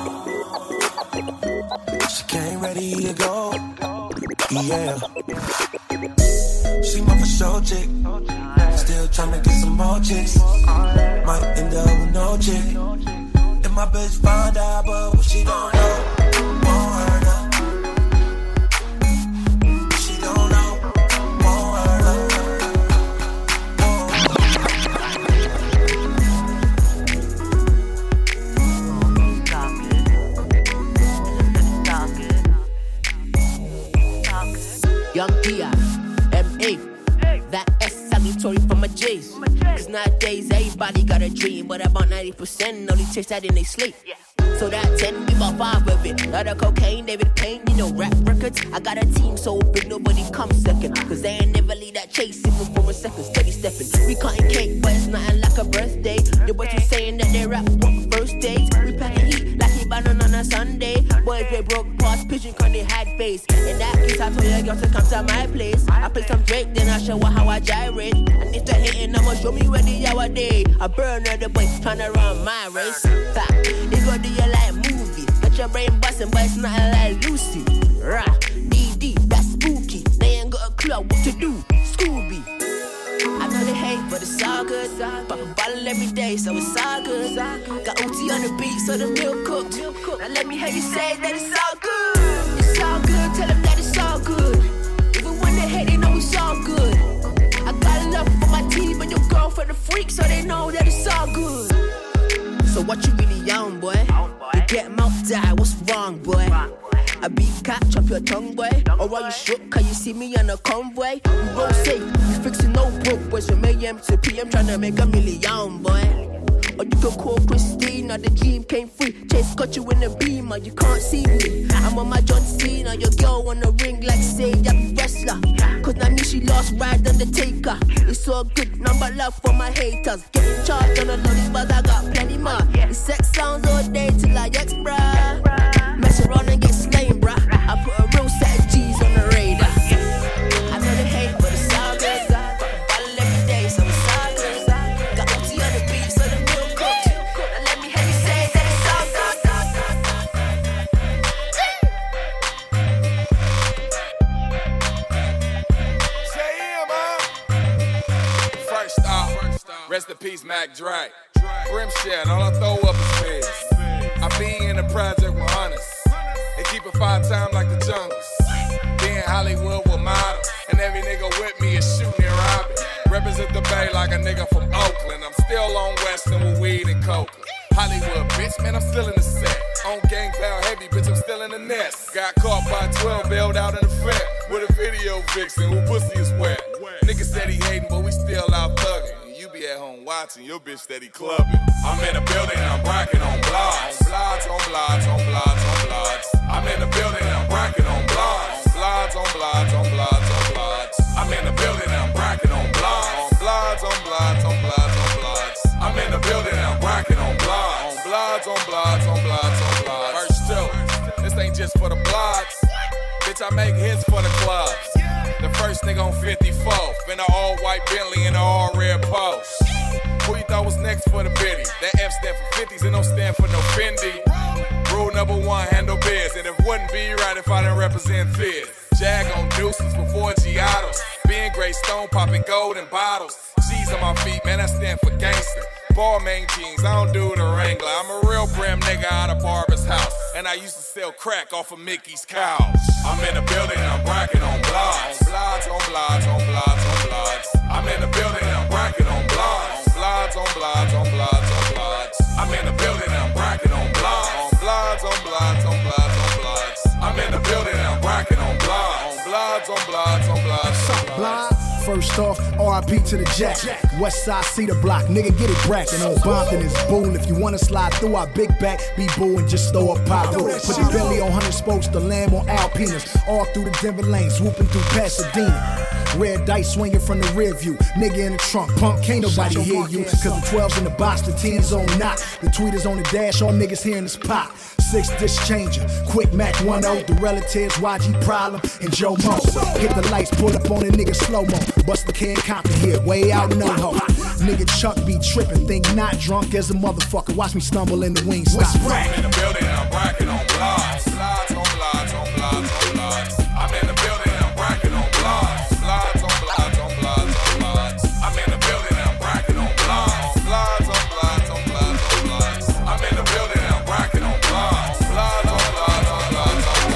She came ready to go. Yeah. She my for sure chick. Still tryna get some more chicks. Might end up with no chick. If my bitch find out, but what she don't know, won't hurt her. She don't know, won't hurt her. Young P I, M A, that S salutatory for my J's. Cause nowadays everybody got a dream, but about ninety percent only chase that in they sleep. So that ten, we about five of it. Lot of cocaine, David Payne, you know, rap records. I got a team so big, nobody comes second. Cause they ain't never leave that chase, even for a second, steady stepping. We cutting cake, but it's nothing like a birthday. The boys were saying that they rap on first dates. We packing heat like he banana on a Sunday. Boys they broke past pigeon cause they had face. In that case I told your girl to come to my place. I play some Drake then I show her how I gyrate. And if they're hating I'ma show me where the hour day. I burn all the boys tryna run my race. Ha, they go do you like movie. Got your brain bustin' but it's nothing like Lucy. Rah, D D, that's spooky. They ain't got a clue what to do. Scooby. I know they hate, but it's all good. Pop a bottle every day, so it's all good. Got O T on the beat, so the meal cooked. Now let me hear you say that it's all good. It's all good, tell them that it's all good. Even when they hate, they know it's all good. I got love for my team and your girlfriend a freak, so they know that it's all good. So what you really on, boy? You get mouth die, what's wrong, boy? I beat cat, chop your tongue, boy. Or are you shook, cause you see me on a convoy? We roll safe, we fixing no broke boys from A M to P M, tryna make a million, boy. Or you can call Christina, the dream came free. Chase got you in the beamer, you can't see me. I'm on my John Cena, your girl on the ring like say I'm wrestler. Cause now me she lost ride Undertaker. It's all good, number love for my haters. Getting charged on the lollies, but I got plenty more. The sex sounds all day till I ex, bruh. Mess around and get slain, bruh. I put a real set of G's on the radar. I know they hate, but it's all good. Pop a bottle every day, so it's all good. Got O T on the beat, so the meal cooked. Now let me hear you say that it's all good. First off, rest in peace, Mac Dre. Rim shit, all I throw up is fish. I be in the project with hunters. They keep it five times like the jungles. Be in Hollywood with models. And every nigga with me is shooting and robbing. Represent the Bay like a nigga from Oakland. I'm still on Western with weed and coke. Hollywood, bitch, man, I'm still in the set. On gang pound heavy, bitch, I'm still in the nest. Got caught by twelve, bailed out in the Fed. With a video vixen who pussy is wet. Nigga said he hating, but we still out thugging. You be at home watching, your bitch steady clubbing. I'm in the building, I'm bragging on blogs. Blogs, on blogs, on blogs, on blogs. I'm in the building, I'm bragging on blogs. Blogs, on blogs, on blogs, on blogs. I'm in the building, I'm bragging on blogs. On blogs, on blogs, on blogs, on blogs. I'm in the building, I'm bragging on blogs. On blogs, on blogs, on blogs, on blogs. Verse two, this ain't just for the blogs. Bitch, I make hits for the clubs. The first nigga on fifty-fourth, in an all-white Bentley and an all-red Post. Who you thought was next for the biddy? That F stand for fifties and don't stand for no Fendi. Rule number one, handle biz. And it wouldn't be right if I didn't represent Fizz. Jag on deuces before Giottos. Being Grey Stone, popping gold in bottles. G's on my feet, man, I stand for gangster. Balmain jeans, I don't do the Wrangler. I'm a real brim nigga out of Barber's house. And I used to sell crack off of Mickey's couch. I'm in the building, I'm bragging on blogs. Blogs, on blogs, on blogs, on blogs. I'm in the building, I'm bragging on blogs. Blogs, on blogs, on blogs, on blogs. I'm in the building, I'm bragging on blogs. On blogs, on blogs, on blogs, on blogs. I'm in the building, I'm bragging on blogs. On blogs, on blogs, on blogs, on blogs. First off, R I P to the Jack. West side Cedar Block, nigga get it brackin' on Bompton is boon. If you wanna slide through our big back, be booing, just throw a pop through. Put the belly on hundred spokes, the lamb on Alpinas. All through the Denver lane, swooping through Pasadena. Red dice swinging from the rear view. Nigga in the trunk, punk, can't nobody hear you. Cause the twelves in the box, the teens on knock. The tweeters on the dash, all niggas hearing this pop. Six dish changer, quick Mac one oh, the relatives, Y G Problem, and Joe Mo. Hit the lights, pull up on a nigga slow-mo. Bust the can Compton here, way out in NoHo. Nigga Chuck be trippin', think not drunk as a motherfucker. Watch me stumble in the wings. Stop. I'm in the building, I'm bragging on blogs. Blogs, on blogs, on blogs, on blogs. I'm in the building, I'm bragging on blogs. Blogs, on blogs, on blogs, on blogs. I'm in the building, I'm bragging on blogs. Blogs, on blogs, on blogs, on blogs. I'm in the building, I'm bragging on blogs. Blogs, on blogs, on blogs, on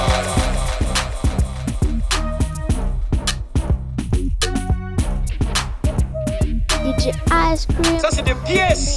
blogs. D J Ice Cream. Ça c'est des pièces.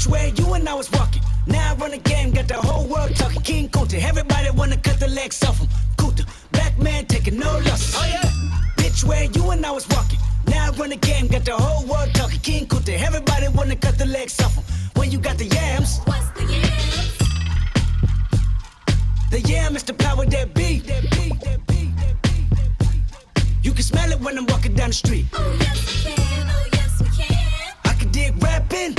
Bitch, where you and I was walking. Now I run the game, got the whole world talking. King Kunta, everybody wanna cut the legs off him. Kunta, black man taking no losses. Oh yeah. Bitch, where you and I was walking. Now I run the game, got the whole world talking. King Kunta, everybody wanna cut the legs off him. When you got the yams. What's the yams? The yam is the power that be. That be, that be, that be, that be. You can smell it when I'm walking down the street. Oh yes we can, oh yes we can. I can dig rapping,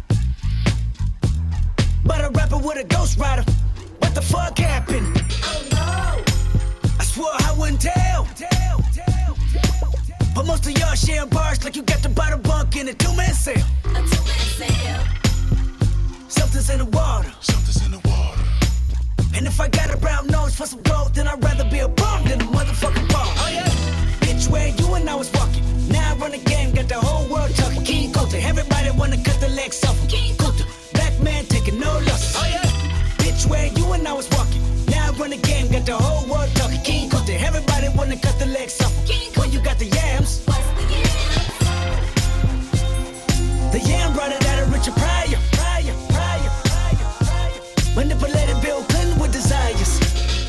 but a rapper with a ghost rider. What the fuck happened? Oh no! I swore I wouldn't tell. tell, tell, tell, tell. But most of y'all sharing bars like you got the bottle bunk in a two-man sale. A two-man sale. Something's in the water. Something's in the water. And if I got a brown nose for some gold, then I'd rather be a bum than a motherfucking bum. Oh yeah. Bitch, where you and I was walking. Now I run the game, got the whole world talking. King Kunta, everybody wanna cut the legs off him. King Kunta, black man taking no losses. Oh yeah. Bitch, where you and I was walking. Now I run the game, got the whole world talking. King Kunta, everybody wanna cut the legs off him. When you got the yams. What's the yams? The yam brought it out of Richard Pryor. Pryor, Pryor, Pryor, Pryor. Manipulated Bill Clinton with desires.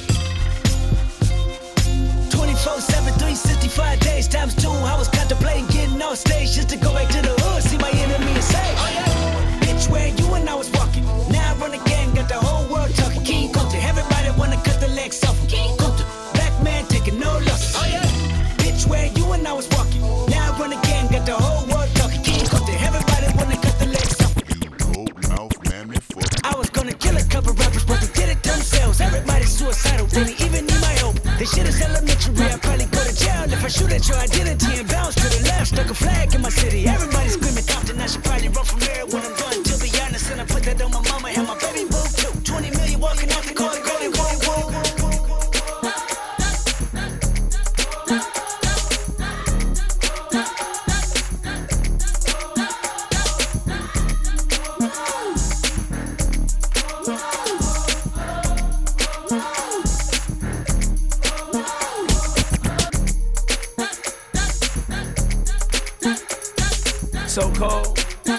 twenty-four seven, three sixty-five days times two. I was contemplating getting on stage just to go back to the hood, see my enemy and say, oh yeah. Bitch, where you and I was walking. Now I run the game, got the whole world talking. King Kunta, everybody wanna cut the legs off him. King Kunta, black man taking no losses. Oh yeah. Bitch, where you and I was walking. Now I run the game, got the whole world talking. King Kunta, everybody wanna cut the legs off him. You cold mouth mammy fuck. I was gonna kill a couple rappers, but they did it themselves. Everybody's suicidal, didn't even need my help. This shit is elementary, I'd probably go to jail if I shoot at your identity and bounce to the left. Stuck a flag in my city, everybody's screaming Compton. I should probably run from here when I'm done. To be honest, and I put that on my mama and my baby boo too. twenty million walking off the court, going whoa, whoa. So cold.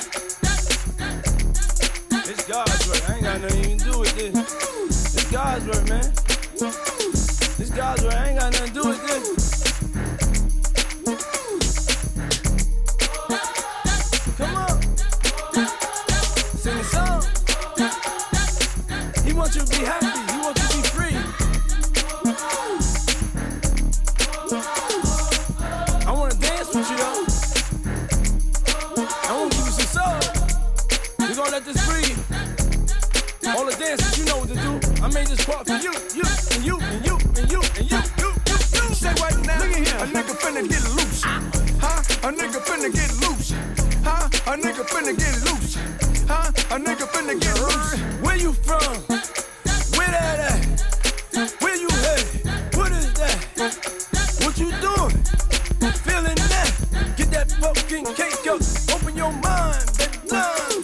It's God's work. I ain't got nothing to do with this. It's God's work, man. It's God's work. I ain't got nothing to do with this. Come on. Sing a song. He wants you to be happy. He wants you to be free. I want to dance with you, though. We gon' let this breathe. All the dancers, you know what to do. I made this part for you, you, and you, and you, and you, and you, you, you, you. Say right now, look at here. A nigga finna get loose. Huh? A nigga finna get loose. Huh? A nigga finna get loose. Huh? A nigga finna get loose. Where you from? Where that at? Where you headed? What is that? What you doing? Feeling that? Get that fucking cake up. Open your mind, baby. Love.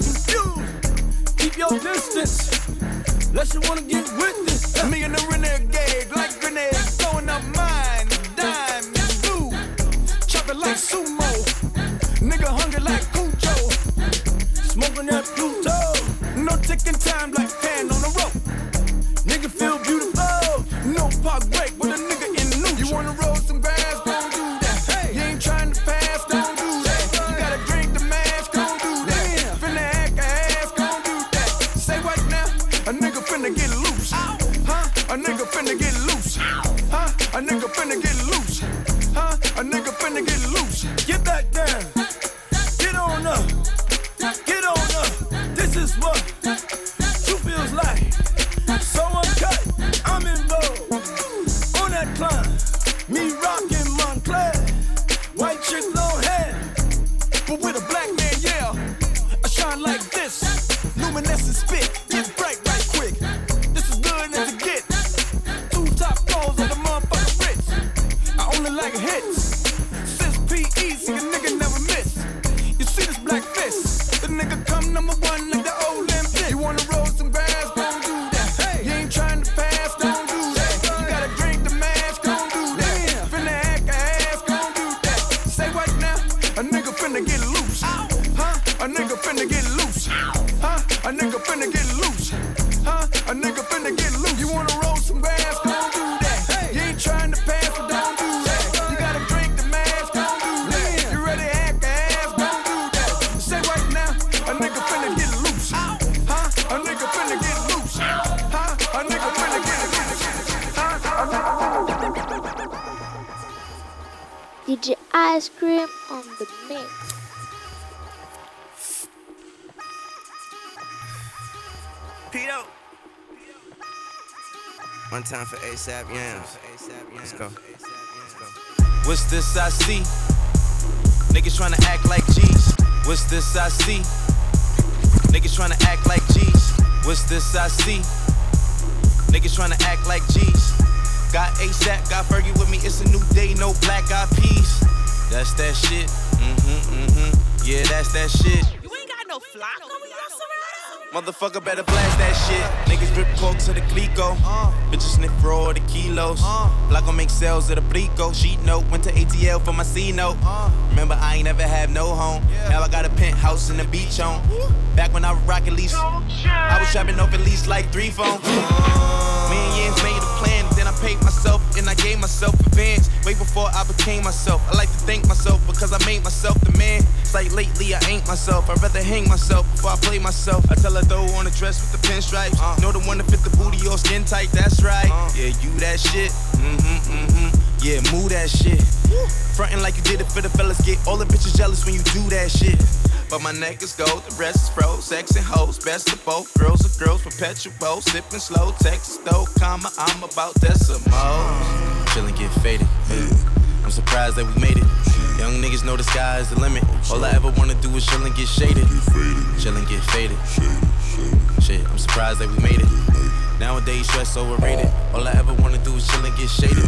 Keep your distance, unless you wanna get with this. Me and the renegade, like grenades, blowing up mine, dime, and blue. Chop it like sumo, nigga hungry like Cujo. Smoking that Pluto, no ticking time like hand on the rope. Nigga feel beautiful, no park break with a nigga in the neutral. You wanna roll some grass, gon' do that. Hey, you ain't trying to pass, don't do that. You gotta drink the mash, gon' do that. Finna act ass, gon' do that. Say right now, a nigga finna get loose. Huh? A nigga finna get loose. Huh? A nigga finna get loose. Huh? A nigga finna get loose. Get back down. Get on up. Get on up. This is what you feels like. So uncut, I'm involved. On that climb, me rockin' Montclair. White chick, long hair, but with a black man, yeah. I shine like this, luminescent spit, get bright right quick. This is good as it get. Two top floors of the motherfucking Ritz. I only like hits. Since P E, see a nigga never miss. You see this black fist, the nigga come number one like the Olympics. You wanna roll some grass, gon' do that. Hey, you ain't trying to pass, don't do that. You gotta drink the mash, gon' do that. Finna act ass, gon' do that. Say right now, a nigga finna get loose. Huh? A nigga finna get loose. loose. Huh? A nigga finna get loose. Huh? A nigga finna get loose. You wanna roll some grass? Don't do that. You ain't trying to pass, but don't do that. You gotta drink the mask, don't do that. You ready to act the ass, don't do that. Say right now, a nigga finna get loose. Huh? A nigga finna get loose. Huh? A nigga finna get loose. Huh? A nigga finna D J Ice Cream on the mix. Pito. One time for ASAP Yams. Let's go. What's this I see? Niggas tryna act like G's. What's this I see? Niggas tryna act like G's. What's this I see? Niggas tryna act like G's. Got ASAP, got Fergie with me. It's a new day, no black eyed peas. That's that shit. Mm-hmm, mm-hmm. Yeah, that's that shit. You ain't got no flock over your Motherfucker better blast that shit. Niggas drip coke to the Clico. Uh, Bitches sniff raw the kilos. Uh, Block gon' make sales of the Blico. Sheet note, went to A T L for my C note. Uh, Remember, I ain't never had no home. Yeah. Now I got a penthouse in the beach on. Back when I was rockin' lease, I was shopping off at least like three phones. Uh, Me and Yams made a plan, then I paid myself and I gave myself advance. Way before I became myself. I like to thank myself because I made myself the man. It's like lately I ain't myself. I'd rather hang myself before I play myself. I tell her throw on a dress with the pinstripes. Uh, know the one that fit the booty or skin tight, that's right. Uh, yeah, you that shit. Mm-hmm, mm-hmm. Yeah, move that shit. Frontin' like you did it for the fellas. Get all the bitches jealous when you do that shit. But my neck is gold, the rest is froze. Sex and hoes, best of both. Girls are girls, perpetual. Sippin' slow, Texas though, comma, I'm about decimals. Chillin' get faded. I'm surprised that we made it. Young niggas know the sky is the limit. All I ever wanna do is chill and get shaded. Chill and get faded. Shit, I'm surprised that we made it. Nowadays, stress overrated. All I ever wanna do is chill and get shaded.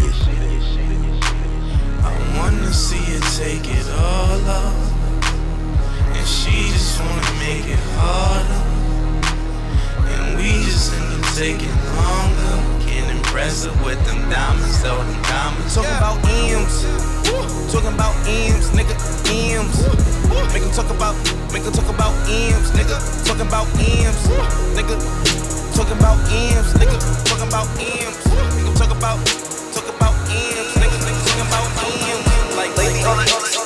I wanna see you take it all off. And she just wanna make it harder. And we just end up taking longer. Can't impress her with them diamonds, so them diamonds. Talking about M's. Talking about M's, nigga, M's. Make them talk about, make them talk about M's, nigga. Talking about M's, nigga. Talking about M's, nigga. Talking about M's. Make them talk about, talk about M's, nigga. Talking about M's. Like, lady, all that, all that.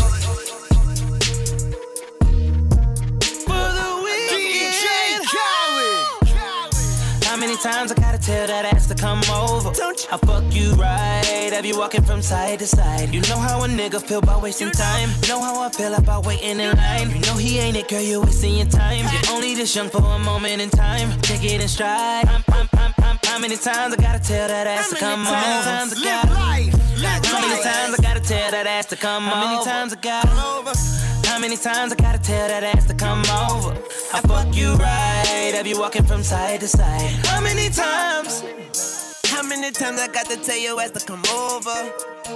Times I gotta tell that ass to come over. I fuck you right, have you walking from side to side. You know how a nigga feel about wasting time. You know how I feel about waiting in line. You know he ain't it, girl, you're wasting your time. You're only this young for a moment in time. Take it in stride. I'm, I'm, I'm, I'm, how many times I gotta tell that ass to come over? How many times I gotta How many times I gotta tell that ass to come over? How many times I gotta How many times I gotta tell that ass to come over? I fuck you right, have you walking from side to side? How many times? How many times I got to tell your ass to come over?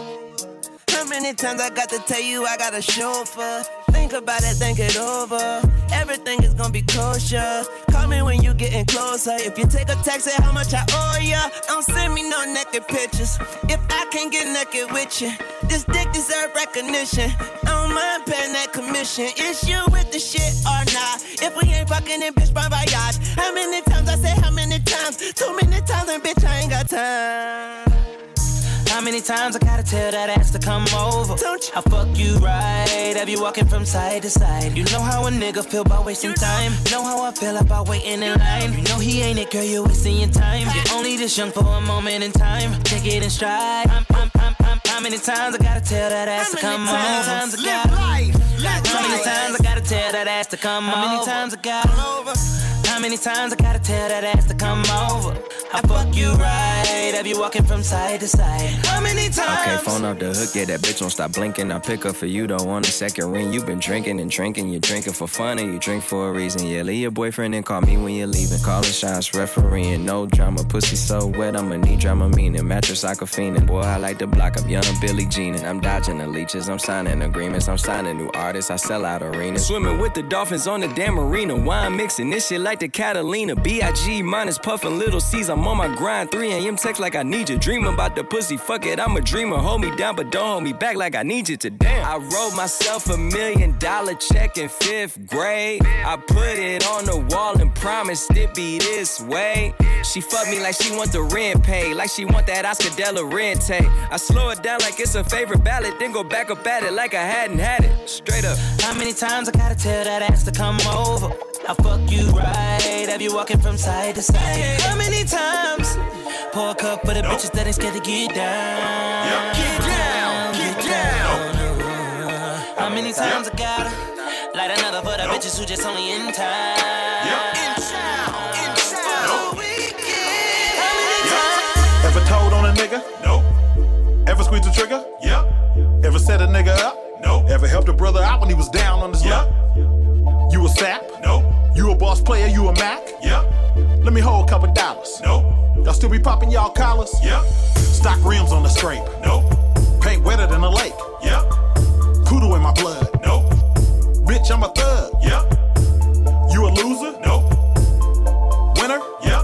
How many times I got to tell you I got a chauffeur? Think about it, think it over. Everything is gonna be kosher. Call me when you getting closer. If you take a text, say how much I owe ya. Don't send me no naked pictures. If I can't get naked with you, this dick deserve recognition. I don't mind paying that commission. Is you with the shit or not? If we ain't fucking in bitch, bon voyage. How many times I say how many times? Too many times and bitch, I ain't got time. How many times I gotta tell that ass to come over? I fuck you right, have you walking from side to side. You know how a nigga feel about wasting time. You know how I feel about waiting in line. You know he ain't it, girl, you're wasting your time. You're only this young for a moment in time. Take it in stride. I'm, I'm, I'm, I'm, how many times I gotta tell that ass to come over? How many times I gotta How many times I gotta tell that ass to come over? How many times I gotta How many times I gotta tell that ass to come over? I fuck you right, have you walking from side to side? How many times? Okay, phone off the hook, yeah, that bitch won't stop blinking. I pick up for you, don't want a second ring. You been drinking and drinking, you drinking for fun and you drink for a reason. Yeah, leave your boyfriend and call me when you're leaving. Call the shots, refereeing, no drama. Pussy so wet, I'ma need drama meaning. Mattress like a fiendin', boy, I like the block. I'm young Billie Jean and I'm dodging the leeches. I'm signing agreements, I'm signing new artists. I sell out arenas. Swimming with the dolphins on the damn arena. Wine mixing this shit like the a Catalina. B I G minus puffin' little C's. I'm on my grind. three a.m. text like I need you. Dreaming about the pussy. Fuck it, I'm a dreamer. Hold me down, but don't hold me back like I need you to. Damn. I wrote myself a million dollar check in fifth grade. I put it on the wall and promised it be this way. She fuck me like she want the rent paid, like she want that Oscar De La Renta. I slow it down like it's a favorite ballad, then go back up at it like I hadn't had it. Straight up. How many times I gotta tell that ass to come over? I fuck you right, have you walking from side to side? How many times? Pour a cup for the nope. bitches that ain't scared to get down. Yep. Get down, get down. How many times yep. I gotta light another for the nope. bitches who just only in time? Yep. In town, in town. Nope. How many times? Ever told on a nigga? Nope. Ever squeezed the trigger? Yep. Ever set a nigga up? Nope. Ever helped a brother out when he was down on his yep. luck? You a sap? Nope. You a boss player? You a Mac? Yep. Let me hold a couple dollars. Nope. Y'all still be popping y'all collars? Yep. Stock rims on the scrape? Nope. Paint wetter than a lake? Yep. Poodle in my blood? Nope. Bitch, I'm a thug? Yep. You a loser? Nope. Winner? Yep.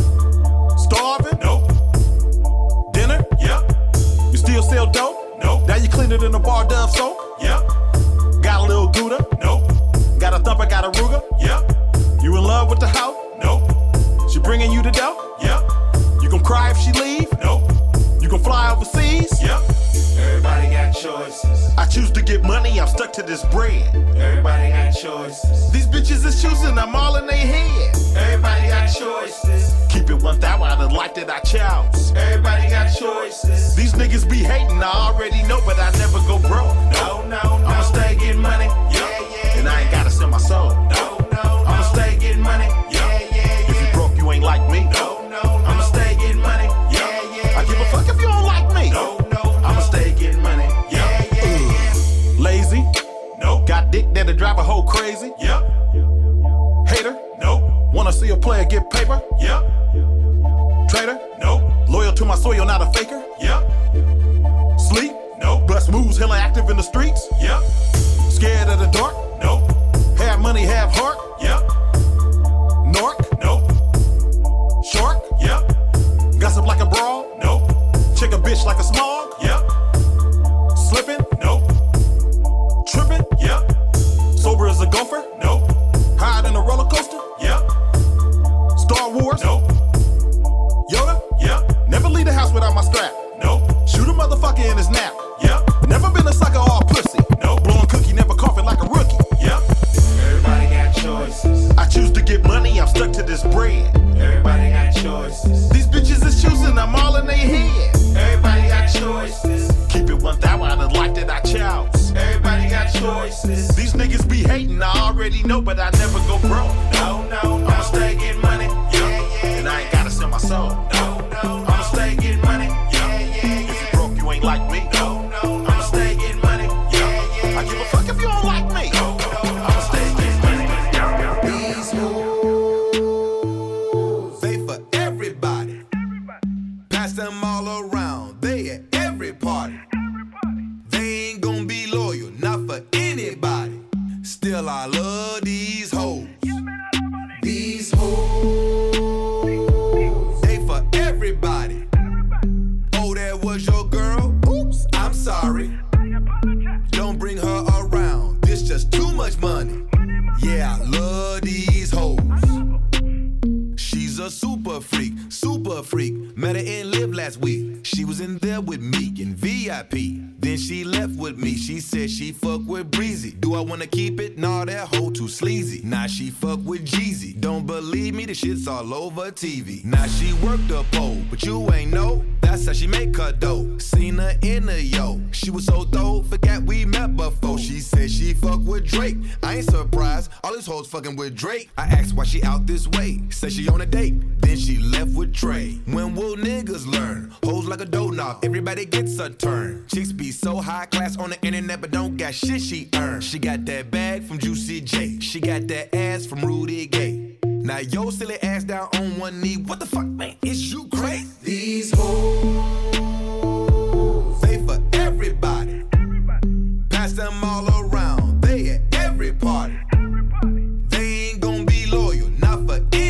Starving? Nope. Dinner? Yep. You still sell dope? Nope. Now you clean it in a bar Dove soap? Yep. Got a little Gouda? Nope. Got a thumper, got a Ruger? Yep. You in love with the hoe? Nope. She bringing you the dough? Yep. You gon' cry if she leave? Nope. You gon' fly overseas? Yep. Everybody got choices. I choose to get money, I'm stuck to this bread. Everybody got choices. These bitches is choosing, I'm all in their head. Everybody got choices. Keep it one thousand out of the life that I chose. Everybody got choices. These niggas be hating, I already know, but I never go broke. No, no, no. I'ma stay getting money. Yeah, yeah. And I ain't gotta sell my soul. No, no, no. I'ma stay getting money. Yeah, yeah, yeah. If you broke, you ain't like me. No, no, no. I'ma stay getting money. Yeah, yeah. I give a fuck if you don't like me. No, no, no. I'ma stay getting money. Yeah, yeah, yeah. Lazy? Nope. Got dick that'll drive a hoe crazy? Yep. Hater? Nope. Wanna see a player get paper? Yep. Traitor? Nope. Loyal to my soil, not a faker? Yep. Sleep? Nope. Bust moves, hella active in the streets? Yep. Scared of the dark? Nope. Have money, have heart? Yep. Narc? Nope. Shark? Yep. Gossip like a brawl? Nope. Check a bitch like a smog? Yep. Slipping? Nope. Tripping? Yep. Sober as a gopher? Nope. Hide in a roller coaster? Yep. Star Wars? Nope. Yoda? Yep. Never leave the house without my strap? Nope. Shoot a motherfucker in his nap? Yep. Never been a sucker or a pussy? Nope. Blowing cookie, never coughing like a rookie? Yep. Everybody got choices. I choose to get money, I'm stuck to this bread. Everybody got choices. These bitches is choosing, I'm all in their head. Everybody got choices. Keep it one thousand out of the life that I chose. Everybody got choices. These niggas be hating, I already know, but I never go broke. No, no, no. I'ma stay getting money. Yeah, yeah. And I ain't gotta sell my soul. No, no, no. I'ma stay getting money. Yeah, yeah. If you broke, you ain't like me. No, no, no. I'ma stay getting money. Yeah, yeah. I give a fuck if you don't like me. No, no, no. I'ma stay getting money. These moves, they for everybody. Pass them all around. They at every party. They ain't gonna be loyal, not for anybody. Still, I love these hoes. These hoes, they for everybody. Oh, that was your girl? Oops, I'm sorry. Don't bring her around. This just too much money. Yeah, I love these hoes. She's a super freak, super freak. Met her in Live last week. She was in there with me in V I P. Then she left with me. She said she fuck with Breezy. Do I wanna keep it? Nah, that hoe too sleazy. Now she fuck with Jeezy. Don't believe me, the shit's all over T V. Now she worked the pole, but you ain't know. That's how she make her dough. Seen her in the yo. She was so dope, forgot we met before. She said she fuck with Drake. I ain't surprised, all these hoes fucking with Drake. I asked why she out this way. Said she on a date, then she left with Trey. When will niggas learn? Hoes like a doorknob, everybody gets a turn. Chicks be so high class on the internet, but don't got shit she earned. She got that bag from Juicy J. She got that ass from Rudy Gay. Now yo silly ass down on one knee. What the fuck, man? Is you crazy? These hoes, they for everybody. Pass them all around. They at every party. They ain't gonna be loyal, not for anybody.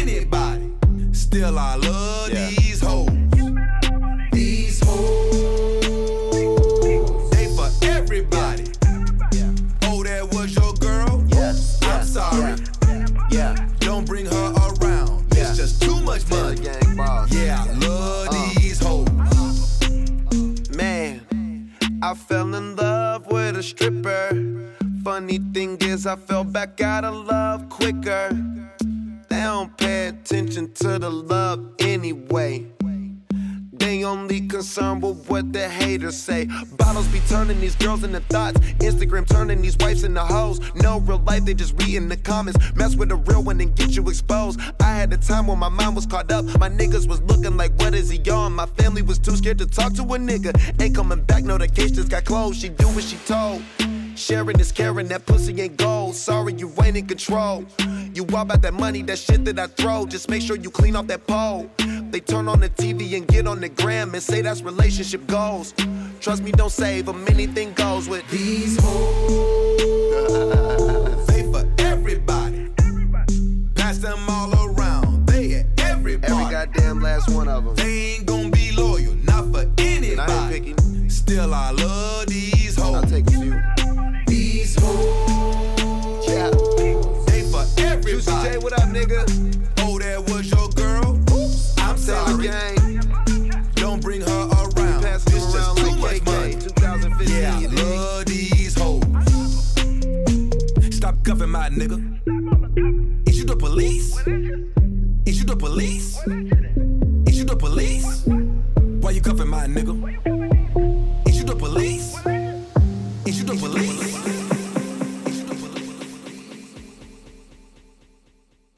Don't bring her around. Yeah. It's just too much money. Yeah, I love uh. these hoes. Man, I fell in love with a stripper. Funny thing is, I fell back out of love quicker. They don't pay attention to the love anyway. They only concerned with what the haters say. Bottles be turning these girls into thoughts. Instagram turning these wives into hoes. No real life, they just read in the comments. Mess with a real one and get you exposed. I had a time when my mind was caught up. My niggas was looking like, what is he on? My family was too scared to talk to a nigga. Ain't coming back, no, the case just got closed. She do what she told. Sharing is caring, that pussy ain't gold. Sorry, you ain't in control. You all about that money, that shit that I throw. Just make sure you clean off that pole. They turn on the T V and get on the gram and say that's relationship goals. Trust me, don't save them, anything goes with these hoes. They for everybody. Pass them all around. They at everybody. Every goddamn last one of them. They ain't gonna be loyal, not for anybody. I ain't picking. Still, I love these hoes. I'll take a few. These hoes. Yeah. They for everybody. Juicy J, what up, nigga? Oh, that was your girl? Oops, I'm sorry. Don't bring her around. Pass it's just around too like much money. twenty fifteen, yeah, I love these hoes. Stop cuffing my nigga. Is you the police? Is you the police?